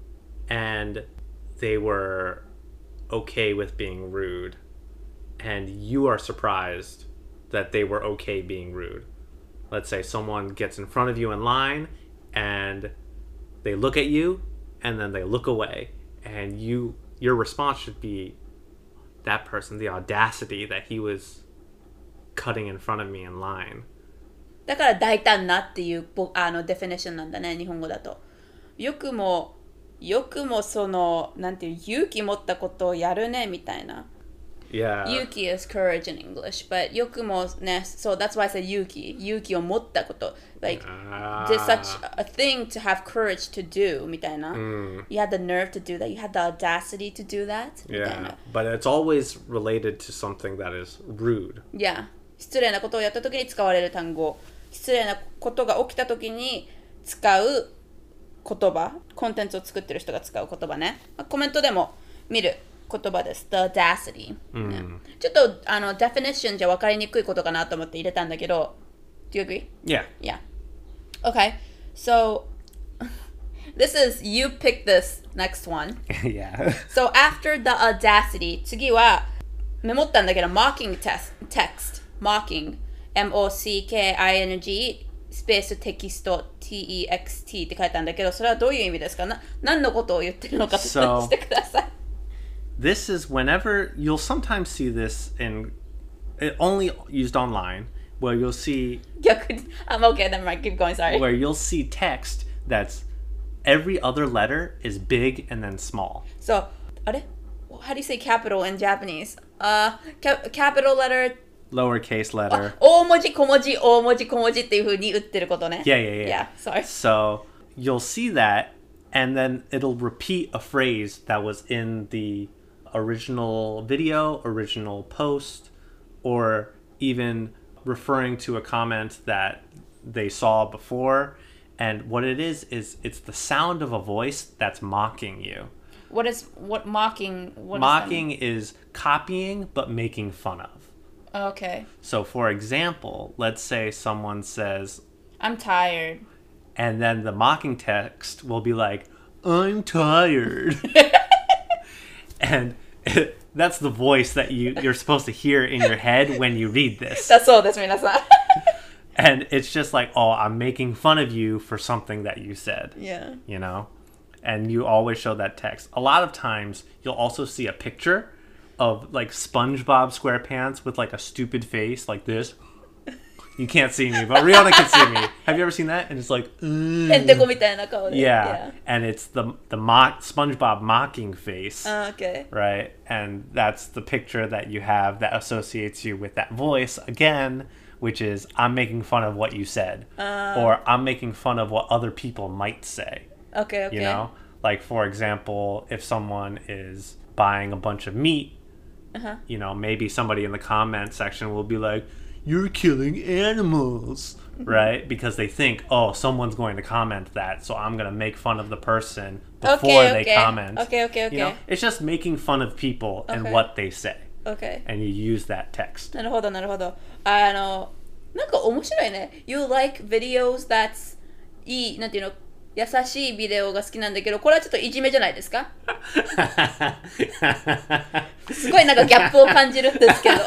and they were okay with being rude and you are surprised that they were okay being rude. Let's say someone gets in front of you in line and they look at you and then they look away and your response should be that person, the audacity that he was cutting in front of me in line. だから大胆なっていうデフィニッションなんだね、日本語だと。よくもそのなんていう勇気持ったことをやるねみたいな。 Yeah. 勇気 is courage in English, but よくもね、so that's why I say 勇気を持ったこと。Like, there's such a thing to have courage to do みたいな。You had the nerve to do that. You had the audacity to do that みたいな。 Yeah, but it's always related to something that is rude. Yeah. 失礼なことをやったときに使われる単語。失礼なことが起きたときに使う言葉。コンテンツを作ってる人が使う言葉ね。コメントでも見る言葉です。The audacity、ね。ちょっとdefinition じゃ分かりにくいことかなと思って入れたんだけど。Do you agree? Yeah. Yeah. Okay. So this is you pick this next one. Yeah. So after the audacity 次はメモったんだけど mocking text mocking M-O-C-K-I-N-G スペーステキスト T-E-X-T って書いたんだけどそれはどういう意味ですか何のことを言ってるのか説明してください This is whenever you'll sometimes see this in only used online where you'll see I'm okay, never mind, keep going, sorry. Where you'll see text that's every other letter is big and then small. So, あれ How do you say capital in Japanese? Capital letter Lowercase letter. 大文字小文字大文字小文字っていう風に打ってることね Yeah, sorry. So, you'll see that and then it'll repeat a phrase that was in the original video, original post, or even referring to a comment that they saw before. And what it is it's the sound of a voice that's mocking you. What mocking? Mocking is copying but making fun of. Okay. So, for example, let's say someone says, I'm tired. And then the mocking text will be like, I'm tired. And that's the voice that you're supposed to hear in your head when you read this. だそうです、皆さん。 And it's just like, oh, I'm making fun of you for something that you said. Yeah. You know? And you always show that text. A lot of times, you'll also see a picture of like SpongeBob SquarePants with like a stupid face like this. You can't see me, but Rihanna can see me. Have you ever seen that? And it's like, へんてこみたいな顔で yeah. And it's the SpongeBob mocking face. Okay. Right? And that's the picture that you have that associates you with that voice again, which is I'm making fun of what you said. Or I'm making fun of what other people might say. Okay. You know? Like, for example, if someone is buying a bunch of meat, you know, maybe somebody in the comment section will be like, you're killing animals, right? Because they think, oh, someone's going to comment that, so I'm going to make fun of the person before they comment. Okay. You know, it's just making fun of people and what they say. Okay. And you use that text. なるほど。なんか面白いね。You like videos that's いい、なんていうの、優しいビデオが好きなんだけど、これはちょっといじめじゃないですか？すごいなんかギャップを感じるんですけど。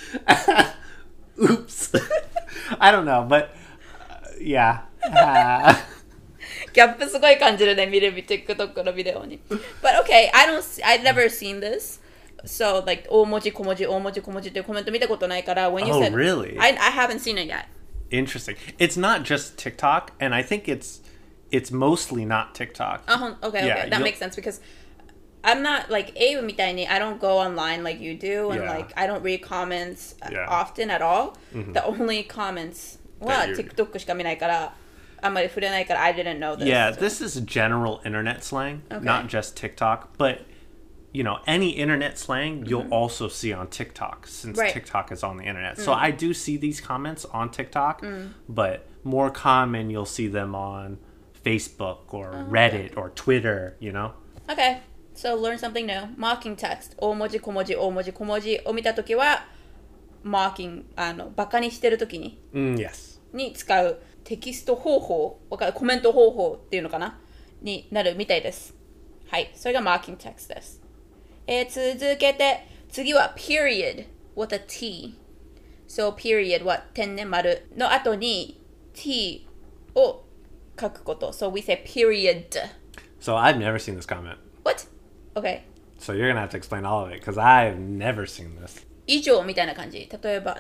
Oops. I don't know, but yeah. ギャップすごい感じるね、見るTikTok のビデオに。But okay, I've never seen this. So, like, 大文字小文字っていうコメント見たことないから、when you said... really? I haven't seen it yet. Interesting. It's not just TikTok, and I think it's mostly not TikTok. Okay. That makes sense because I'm not like Abe みたいに I don't go online like you do, and like I don't read comments often at all. The only comments は TikTok しか見ないから、あんまり触れないから I didn't know this. Yeah, this is general internet slang, not just TikTok, but you know, any internet slang you'll also see on TikTok since TikTok is on the internet. So I do see these comments on TikTok, but more common you'll see them on Facebook or Reddit or Twitter, you know? Okay, so learn something new. Mocking text. 大文字小文字を見たときは mocking バカにしてるときに、 yes. に使うテキスト方法、コメント方法っていうのかなになるみたいです。はい、それが mocking text です。続けて次は period with a t. So period は点ね丸の後に t を書くこと。So we say period. So I've never seen this comment. What? Okay. So you're gonna have to explain all of it because I've never seen this. 以上みたいな感じ。例えば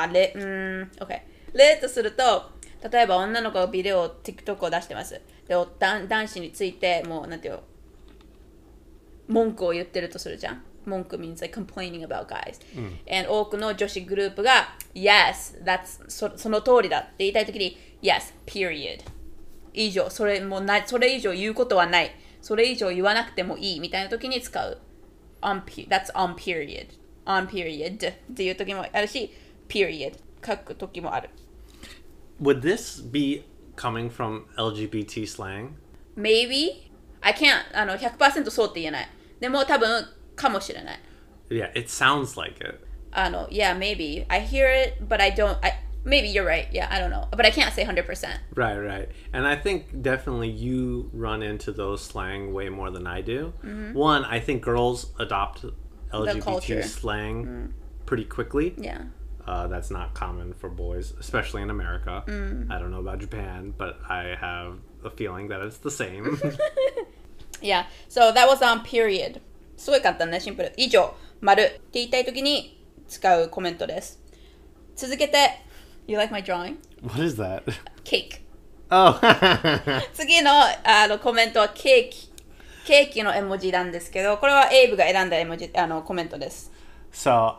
OK. 例とすると、例えば女の子がビデオ TikTok を出してます。で、男子についてもうなんていう文句を言ってるとするじゃん。文句 means like complaining about guys. And 多くの女子グループが Yes, that's その通りだって言いたいときに Yes, period. 以上、それ以上言うことはない。それ以上言わなくてもいいみたいなときに使う。That's on period. On period っていうときもあるし period 書くときもある。 Would this be coming from LGBT slang? Maybe. I can't 100% そうって言えない。でも多分かもしれない。 Yeah, it sounds like it. Yeah, maybe. I hear it, but I don't. Maybe you're right. Yeah, I don't know. But I can't say 100%. Right. And I think definitely you run into those slang way more than I do. One, I think girls adopt LGBT slang pretty quickly. Yeah. That's not common for boys, especially in America. I don't know about Japan, but I have a feeling that it's the same. Yeah, so that was on period. すごい簡単ね、シンプル。以上、丸って言いたいときに使うコメントです。続けて、You like my drawing? What is that? Cake. Oh. 次のコメントはケーキの絵文字なんですけど、これはエイブが選んだ絵文字コメントです。 So,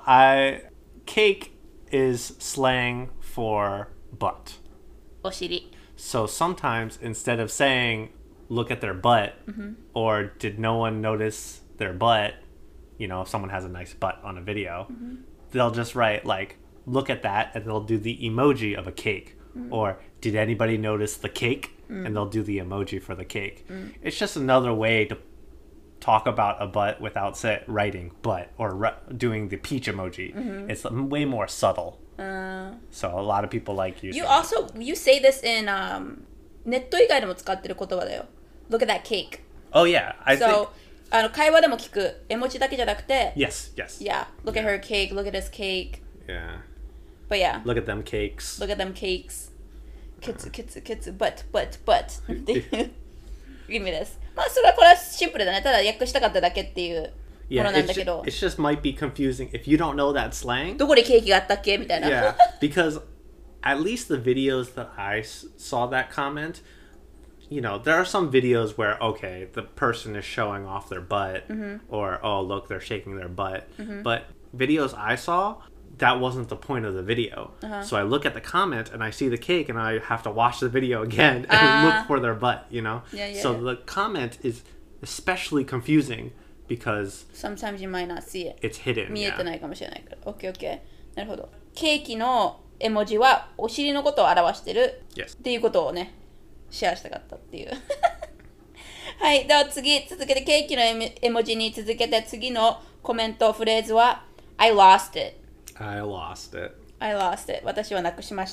cake is slang for butt. お尻。 So sometimes instead of saying look at their butt or did no one notice their butt, you know, if someone has a nice butt on a video, they'll just write like look at that and they'll do the emoji of a cake or did anybody notice the cake and they'll do the emoji for the cake. It's just another way to talk about a butt without writing butt or doing the peach emoji. It's way more subtle. So a lot of people like using You say this in ネット以外でも使ってる言葉だよ。Look at that cake. Oh yeah, I think 会話でも聞く絵文字だけじゃなくて Yes. Yeah, look at her cake, look at his cake. Yeah. But yeah. Look at them cakes. Look at them cakes. ケツbutt っていう意味です。まあこれはシンプルだね。ただ訳したかっただけっていうものなんだけど。 It just might be confusing if you don't know that slang. どこでケーキがあったっけみたいな。 Yeah, because at least the videos that I saw that comment, you know, there are some videos where, okay, the person is showing off their butt or, oh, look, they're shaking their butt. But videos I saw, that wasn't the point of the video. So I look at the comment and I see the cake and I have to watch the video again and look for their butt, you know? So the comment is especially confusing because sometimes you might not see it. It's hidden. 見えてないかもしれないから。OK。なるほど。ケーキの絵文字はお尻のことを表してる Yes. っていうことをね、シェアしたかったっていう。はい、では続けてケーキの絵文字に続けて次のコメントフレーズは I lost it. I lost it. I lost it. 私はなくしました。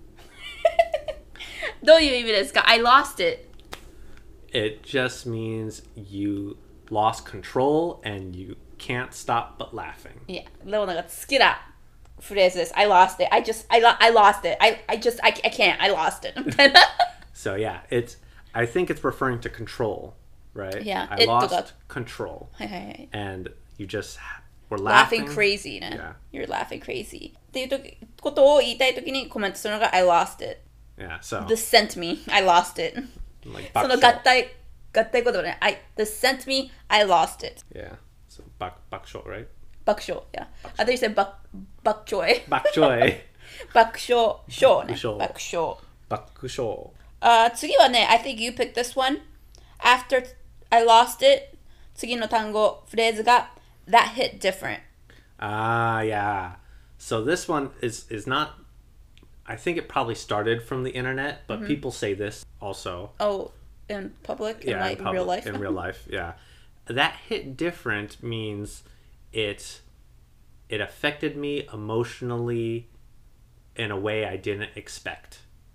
どういう意味ですか ?I lost it. It just means you lost control and you can't stop but laughing. いや、レオナが好きなフレーズです。I lost it. I lost it. I can't. I lost it. みたいな。 So yeah, I think it's referring to control, right? Yeah, I it lost control. はいはいはい。 And you just were laughing laughing. crazy ね。 Yeah. You're laughing crazy. っていうことを言いたいときにコメントするのが I lost it. Yeah, so This sent me. I lost it. like その bakshou. 合体言葉ね。This sent me. I lost it. Yeah. So bakshou, right? 爆笑。Yeah. I thought you said 爆笑。 Bakjoy. 爆笑。笑ね。 爆笑爆笑。 Bakusho. 次はね、I think you picked this one. After I lost it. 次の単語、フレーズが That hit different. Ah, yeah. So this one is not. I think it probably started from the internet, but people say this also. Oh, in public? In, Yeah, like, in public, real life? in real life, yeah. That hit different means it affected me emotionally in a way I didn't expect.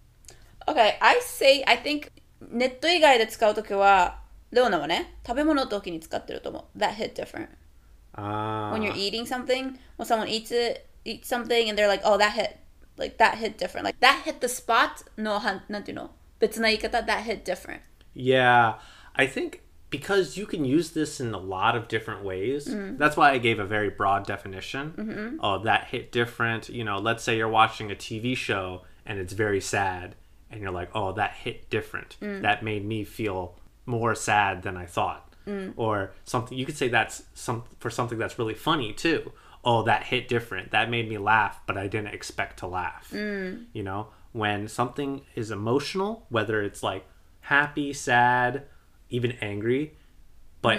Okay, I think ネット以外で使うときは、レオナはね、食べ物の時に使ってると思う。That hit different. When you're eating something, when someone eats something and they're like, oh, that hit different. Like, that hit the spot の、なんていうの別な言い方 that hit different. Yeah, I think because you can use this in a lot of different ways. That's why I gave a very broad definition. Oh, that hit different. You know, let's say you're watching a TV show and it's very sad. And you're like, oh, that hit different. That made me feel more sad than I thought. Or something, you could say that's for something that's really funny too. Oh, that hit different. That made me laugh, but I didn't expect to laugh. You know, when something is emotional, whether it's like happy, sad, even angry, but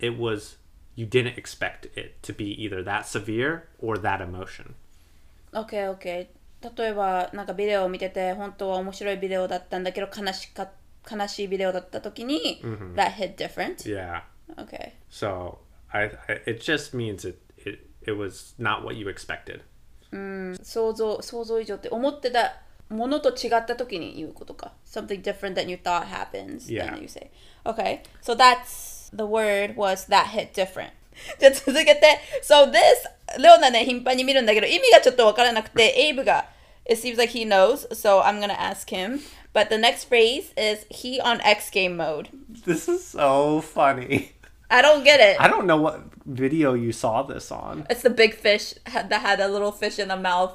you didn't expect it to be either that severe or that emotion. Okay, okay. 例えばなんかビデオを見てて本当は面白いビデオだったんだけど悲しいビデオだった時に、that hit different. Yeah. Okay. So it just means it was not what you expected. 想像以上って思ってたものと違った時に言うことか。Something different than you thought happens. Yeah. Then you say. Okay. So the word was that hit different. じゃあ続けて。So this レオナね頻繁に見るんだけど意味がちょっとわからなくてエイブが It seems like he knows, so I'm gonna ask him. But the next phrase is he on X game mode. This is so funny. I don't get it. I don't know what video you saw this on. It's the big fish that had a little fish in the mouth.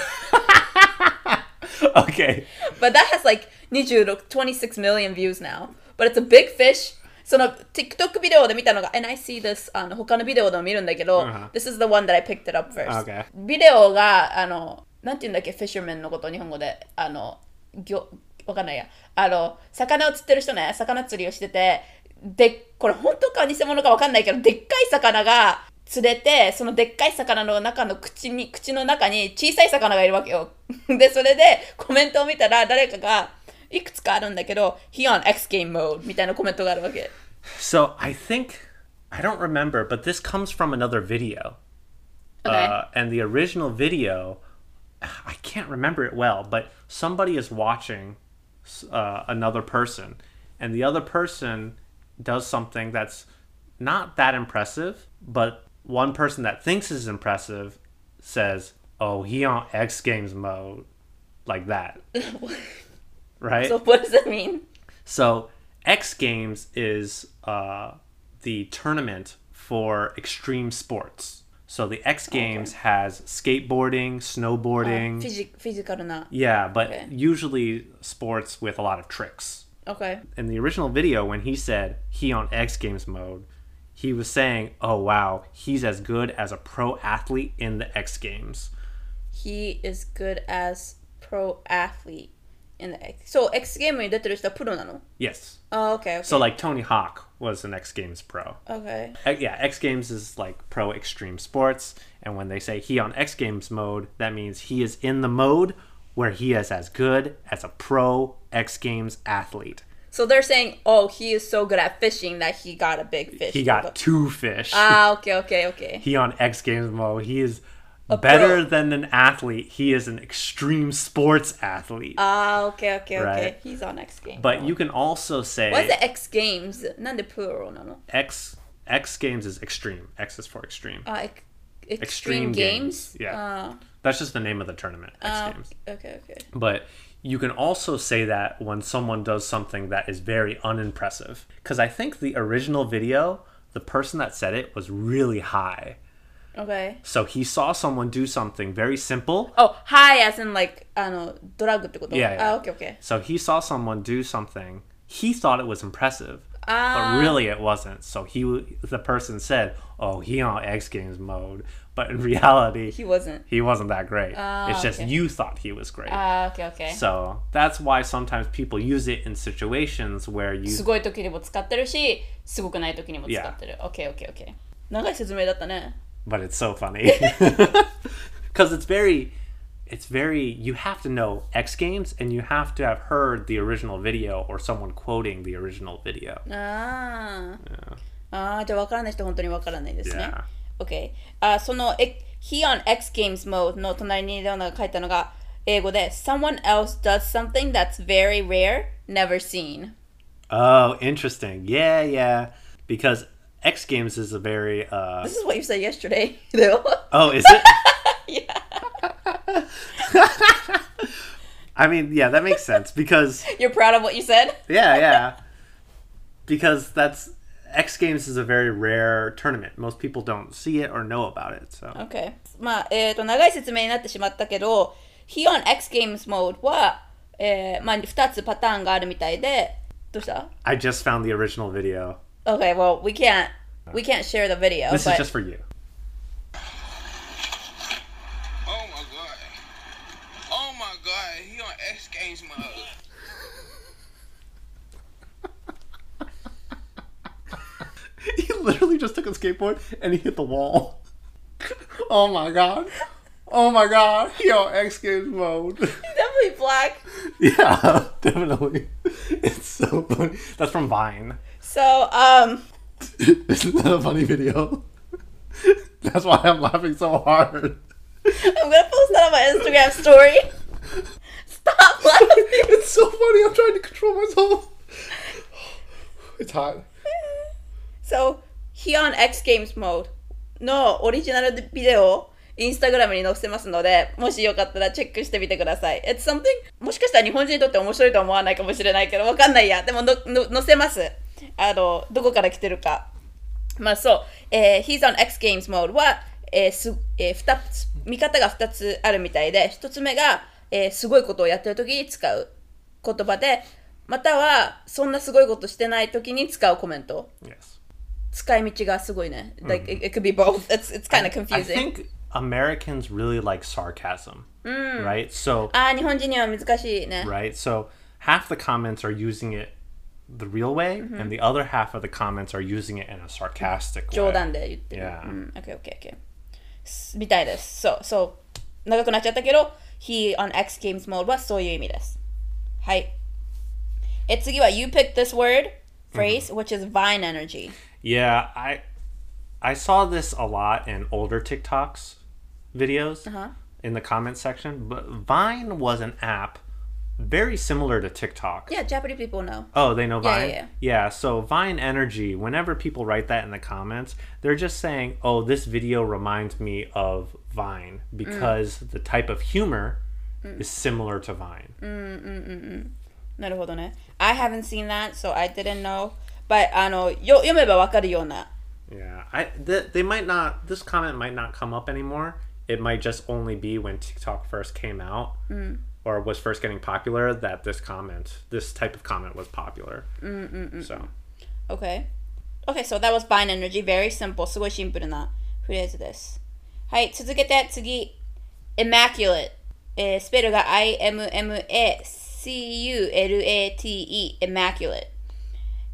Okay. But that has like 26 million views now. But it's a big fish. その TikTok ビデオで見たのが and I see this 他のビデオでも見るんだけど、This is the one that I picked it up first. Okay. ビデオがなんて言うんだっけ fisherman のこと日本語でわかんないや魚を釣ってる人ね魚釣りをしててでこれ本当か偽物かわかんないけどでっかい魚が釣れてそのでっかい魚の中の口の中に小さい魚がいるわけよでそれでコメントを見たら誰かがいくつかあるんだけど He on X game mode みたいなコメントがあるわけ So I think I don't remember, but this comes from another video. Okay. And the original video, I can't remember it well, but somebody is watching another person, and the other person does something that's not that impressive, but one person that thinks is impressive says, "Oh, he on X Games mode," like that. Right? So what does that mean? So X Games is the tournament for extreme sports. So the X Games has skateboarding, snowboarding. フィジカルな Yeah, but Okay. usually sports with a lot of tricks. Okay. In the original video, when he said he on X Games mode, he was saying, oh wow, he's as good as a pro athlete in the X Games. He is good as pro athlete in the X. So X ゲームに出てる人はプロなの Yes. Oh, okay, okay. So like Tony Hawk was an X Games pro. Okay. Yeah, X Games is like pro extreme sports. And when they say he on X Games mode, that means he is in the mode where he is as good as a pro X Games athlete. So they're saying, oh, he is so good at fishing that he got a big fish. He got 2 fish. Okay. He on X Games mode, he is A better pro. than an athlete. He is an extreme sports athlete. Okay. Right. He's on X Games. But you can also say What's the X Games? なんで plural なの? X Games is extreme. X is for extreme. Extreme Games? Yeah. That's just the name of the tournament, X Games. Okay. But you can also say that when someone does something that is very unimpressive. Because I think the original video, the person that said it was really high. Okay. So he saw someone do something very simple. Oh, high as in like, ドラッグってこと? Yeah. Okay. So he saw someone do something. He thought it was impressive. But really it wasn't. So the person said, oh, he on X Games mode. But in reality, He wasn't. He wasn't that great. It's just okay. you thought he was great. Okay. So that's why sometimes people use it in situations where you... すごい時にも使ってるし、すごくない時にも使ってる。Okay. 長い説明だったね。 But it's so funny. Because it's very... You have to know X Games and you have to have heard the original video or someone quoting the original video. じゃあ分からない人本当に分からないですね。 Yeah. Okay. そのHe on X Games mode の隣にレオナが書いたのが英語で Someone else does something that's very rare, never seen. Oh, interesting. Yeah. Because X Games is a very... This is what you said yesterday. Oh, is it? Yeah. I mean, yeah, that makes sense because... You're proud of what you said? Yeah. Because X Games is a very rare tournament. Most people don't see it or know about it. So. Okay. まあ、長い説明になってしまったけど、He on X Games mode は、まあ、2つパターンがあるみたいで、どうした? I just found the original video. Okay, well, we can't share the video. This but... is just for you. Oh my god, he on X Games mode. He literally just took a skateboard and he hit the wall. Oh my god. He on X Games mode. He's definitely black. Yeah, definitely. It's so funny. That's from Vine. So, Isn't that a funny video? That's why I'm laughing so hard. I'm gonna post that on my Instagram story. Stop laughing. It's so funny. I'm trying to control myself. It's hot. So, He on X Games mode のオリジナルビデオをインスタグラムに載せますので、もしよかったらチェックしてみてください。It's something もしかしたら日本人にとって面白いと思わないかもしれないけど、わかんないや。でも載せます。どこから来てるか。まあそう、He's on X Games mode は、見方が2つあるみたいで、1つ目が、すごいことをやってる時に使う言葉で、またはそんなすごいことしてない時に使うコメント。 Yes. 使い道がすごいね。Like, it could be both. It's kind of confusing. I think Americans really like sarcasm, right? So 日本人には難しいね。 right? So half the comments are using it the real way, and the other half of the comments are using it in a sarcastic way. 冗談で言ってる。 Yeah. Okay. みたいです。そう。長くなっちゃったけど、He on X Games mode はそういう意味です。はい。次は You picked this word, phrase, which is Vine energy. Yeah, I saw this a lot in older TikToks videos in the comment section, but Vine was an app very similar to TikTok. Yeah, Japanese people know. Oh, they know Vine? Yeah. Yeah, so Vine Energy, whenever people write that in the comments, they're just saying, oh, this video reminds me of Vine because the type of humor is similar to Vine. なるほどね。I haven't seen that, so I didn't know. But 読めばわかるような。 Yeah, they might not. This comment might not come up anymore. It might just only be when TikTok first came out or was first getting popular that this type of comment was popular. So. Okay, so that was Vine energy. Very simple. すごいシンプルなフレーズです。はい、続けて次。Immaculate。スペルが IMMACULATE。Immaculate。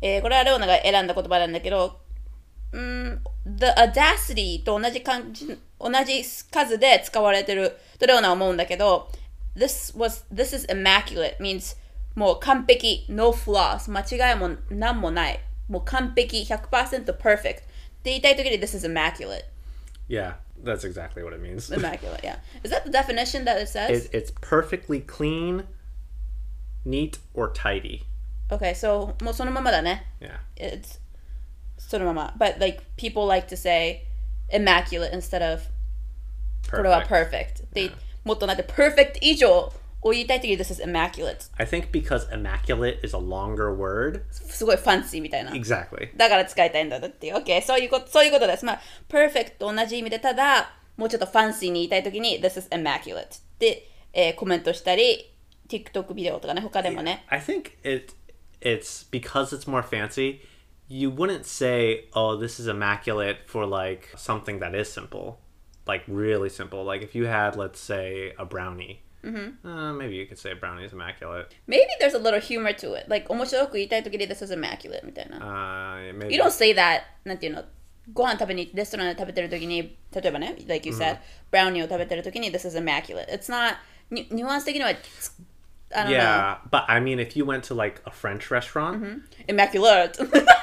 これはレオナが選んだ言葉なんだけど、the audacity と同じ数で使われてるとレオナは思うんだけど、this is immaculate means もう完璧、no flaws、間違いも何もない、もう完璧、100% perfect って言いたいときに this is immaculate. Yeah, that's exactly what it means. Immaculate, yeah. Is that the definition that it says? It's perfectly clean, neat, or tidy. Okay, so もうそのままだね。 Yeah. It's そのまま。But like people like to say immaculate instead of これは perfect. They もっとなんて perfect 以上を言いたいときに this is immaculate. I think because immaculate is a longer word. すごいファンシーみたいな。 Exactly. だから使いたいんだっていう。OK、そういうことです。まあ、perfect と同じ意味で、ただ、もうちょっとファンシーに言いたいときに this is immaculate で、コメントしたり、TikTok ビデオとかね、他でもね。 I think it's because it's more fancy, you wouldn't say, oh, this is immaculate for like something that is simple. Like really simple. Like if you had, let's say, a brownie. Maybe you could say a brownie is immaculate. Maybe there's a little humor to it. Like 面白く言いたいときに this is immaculate みたいな。 Maybe. You don't say that なんていうのご飯食べにレストランで食べてるときに例えばね like you said、ブラウニーを食べてるときに this is immaculate. It's not ニュアンス的にはI don't Yeah, but I mean if you went to like a French restaurant, immaculate.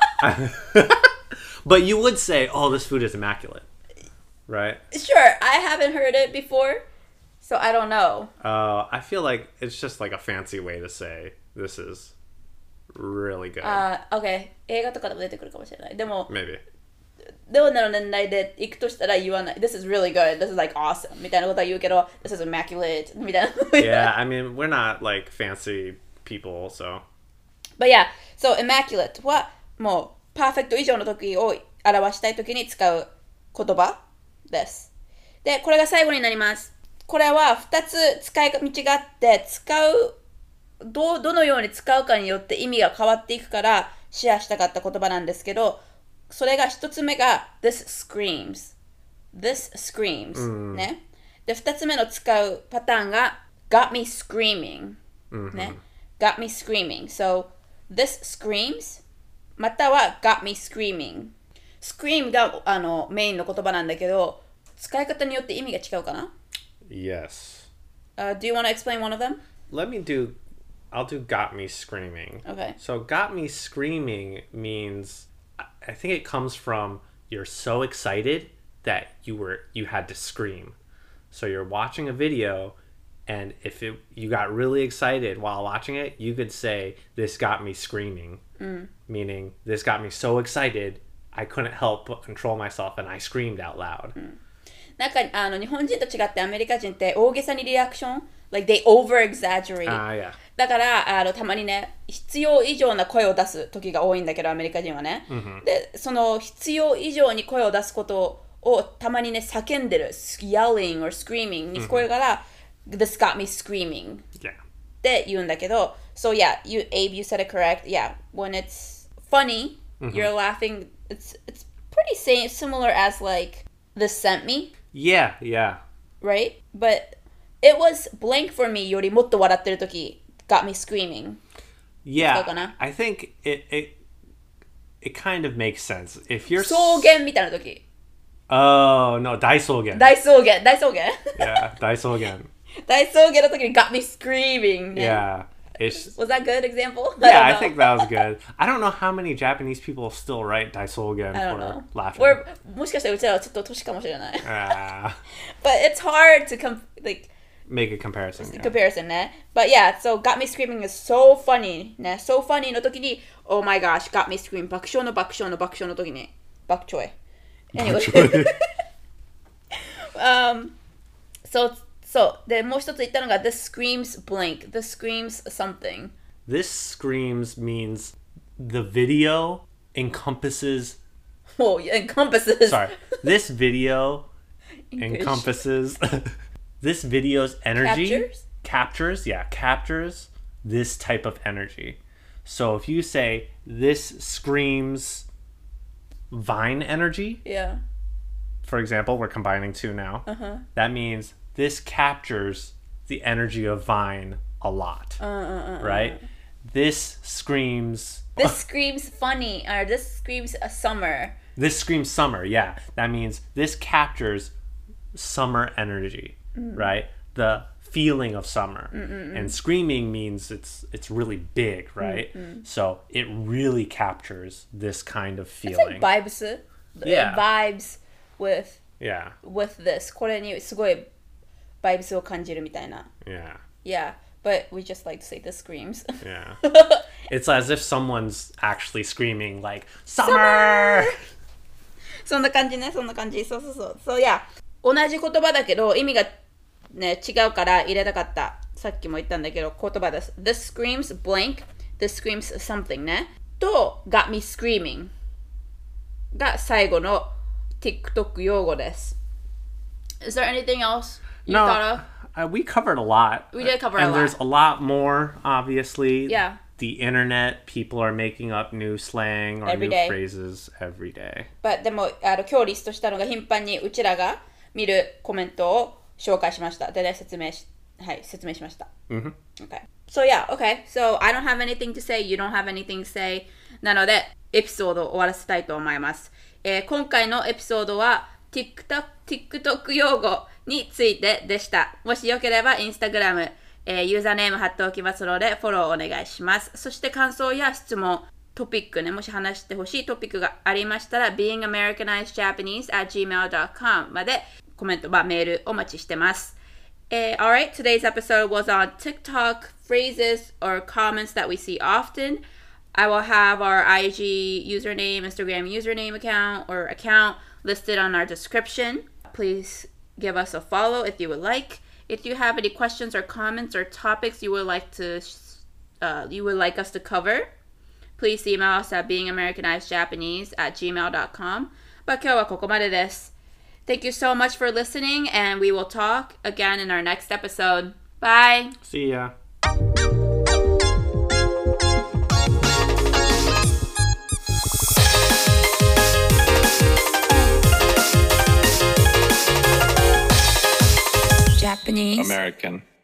but you would say, oh, this food is immaculate. Right? Sure, I haven't heard it before, so I don't know. I feel like it's just like a fancy way to say this is really good. Okay. 映画とかでも出てくるかもしれない。でも Maybe. レオナの年代で行くとしたら言わない。This is really good. This is like awesome. みたいなことは言うけど This is immaculate. みたいな。 Yeah, I mean, we're not like fancy people, so. But yeah, so immaculate はもうパーフェクト以上の時を表したい時に使う言葉です。で、これが最後になります。これは2つ使い道があってどのように使うかによって意味が変わっていくからシェアしたかった言葉なんですけど、それが1つ目が This screams、ね。で、2つ目の使うパターンが Got me screaming、ね。Got me screaming. So, this screams または got me screaming。scream がメインの言葉なんだけど、使い方によって意味が違うかな？ Yes. Do you want to explain one of them? I'll do got me screaming. Okay. So got me screaming means, I think it comes from you're so excited that you had to scream. So you're watching a video, and if you got really excited while watching it, you could say, this got me screaming. Meaning, this got me so excited, I couldn't help but control myself, and I screamed out loud. なんか日本人と違ってアメリカ人って大げさにリアクション like they over exaggerate、 yeah. だからたまにね必要以上な声を出す時が多いんだけどアメリカ人はね、でその必要以上に声を出すことをたまにね叫んでる yelling or screaming に聞こえるから、This got me screaming、 って言うんだけど So yeah, Abe, you said it correct. Yeah, when it's funny, you're laughing, it's pretty similar as like This sent me. Yeah. Right? But it was blank for me よりもっと笑ってる時 got me screaming. Yeah, I think it kind of makes sense. If you're 草原みたいな時 Oh, no, 大草原大草原 Yeah, 大草原大草原の時に got me screaming. Yeah. Was that a good example? Yeah, I think that was good. I don't know how many Japanese people still write 大草原 I don't for know. laughing. Or もしかしたらうちらはちょっと年かもしれない。 But But it's hard to make a comparison. Yeah. comparison ね。But yeah, so got me screaming is so funny ね。So funny の時に Oh my gosh, got me screaming 爆笑の時に爆笑。Anyway. So でもう一つ言ったのが This screams blank. This screams something. This screams means the video encompasses. Oh, encompasses. Sorry, this video encompasses. This video's energy captures this type of energy. So if you say this screams Vine energy, Yeah. for example, we're combining two now. That means this captures the energy of Vine a lot, right? this screams This screams funny, or this screams a summer. This screams summer, yeah. That means this captures summer energy, right? The feeling of summer. And screaming means it's really big, right? So it really captures this kind of It's feeling. like vibes. Yeah. It vibes with Yeah, this. これにすごい vibes を感じるみたいな。 yeah, Yeah, but we just like to say the screams. yeah. It's as if someone's actually screaming like, Summer! そんな感じね、そんな感じ。そうそうそう。そういや、同じ言葉だけど意味がね違うから入れたかった。さっきも言ったんだけど言葉です。This screams blank, this screams something ね。と got me screaming が最後の TikTok 用語です。Is there anything else you thought of? We covered a lot. We did cover a and lot. there's a lot more, obviously. Yeah. The internet, people are making up new slang or Every new day. phrases every day. But でも今日リストしたのが頻繁にうちらが見るコメントを紹介しました。でね、説明しました。 Mhm. Okay. So yeah, okay. So I don't have anything to say, you don't have anything to say. なので、エピソードを終わらせたいと思います。今回のエピソードは TikTok 用語についてでした。もしよければインスタグラム、ユーザーネーム貼っておきますのでフォローお願いします。そして感想や質問、トピックね、もし話してほしいトピックがありましたら beingamericanizedjapanese@gmail.com までコメント、メールお待ちしてます。Alright, today's episode was on TikTok phrases or comments that we see often. I will have our IG username, Instagram username account listed on our description. Please give us a follow if you would like. If you have any questions or comments or topics you would like us to cover, please email us at beingamericanizedjapanese@gmail.com. 今日はここまでです。Thank you so much for listening, and we will talk again in our next episode. Bye! See ya. Japanese. American.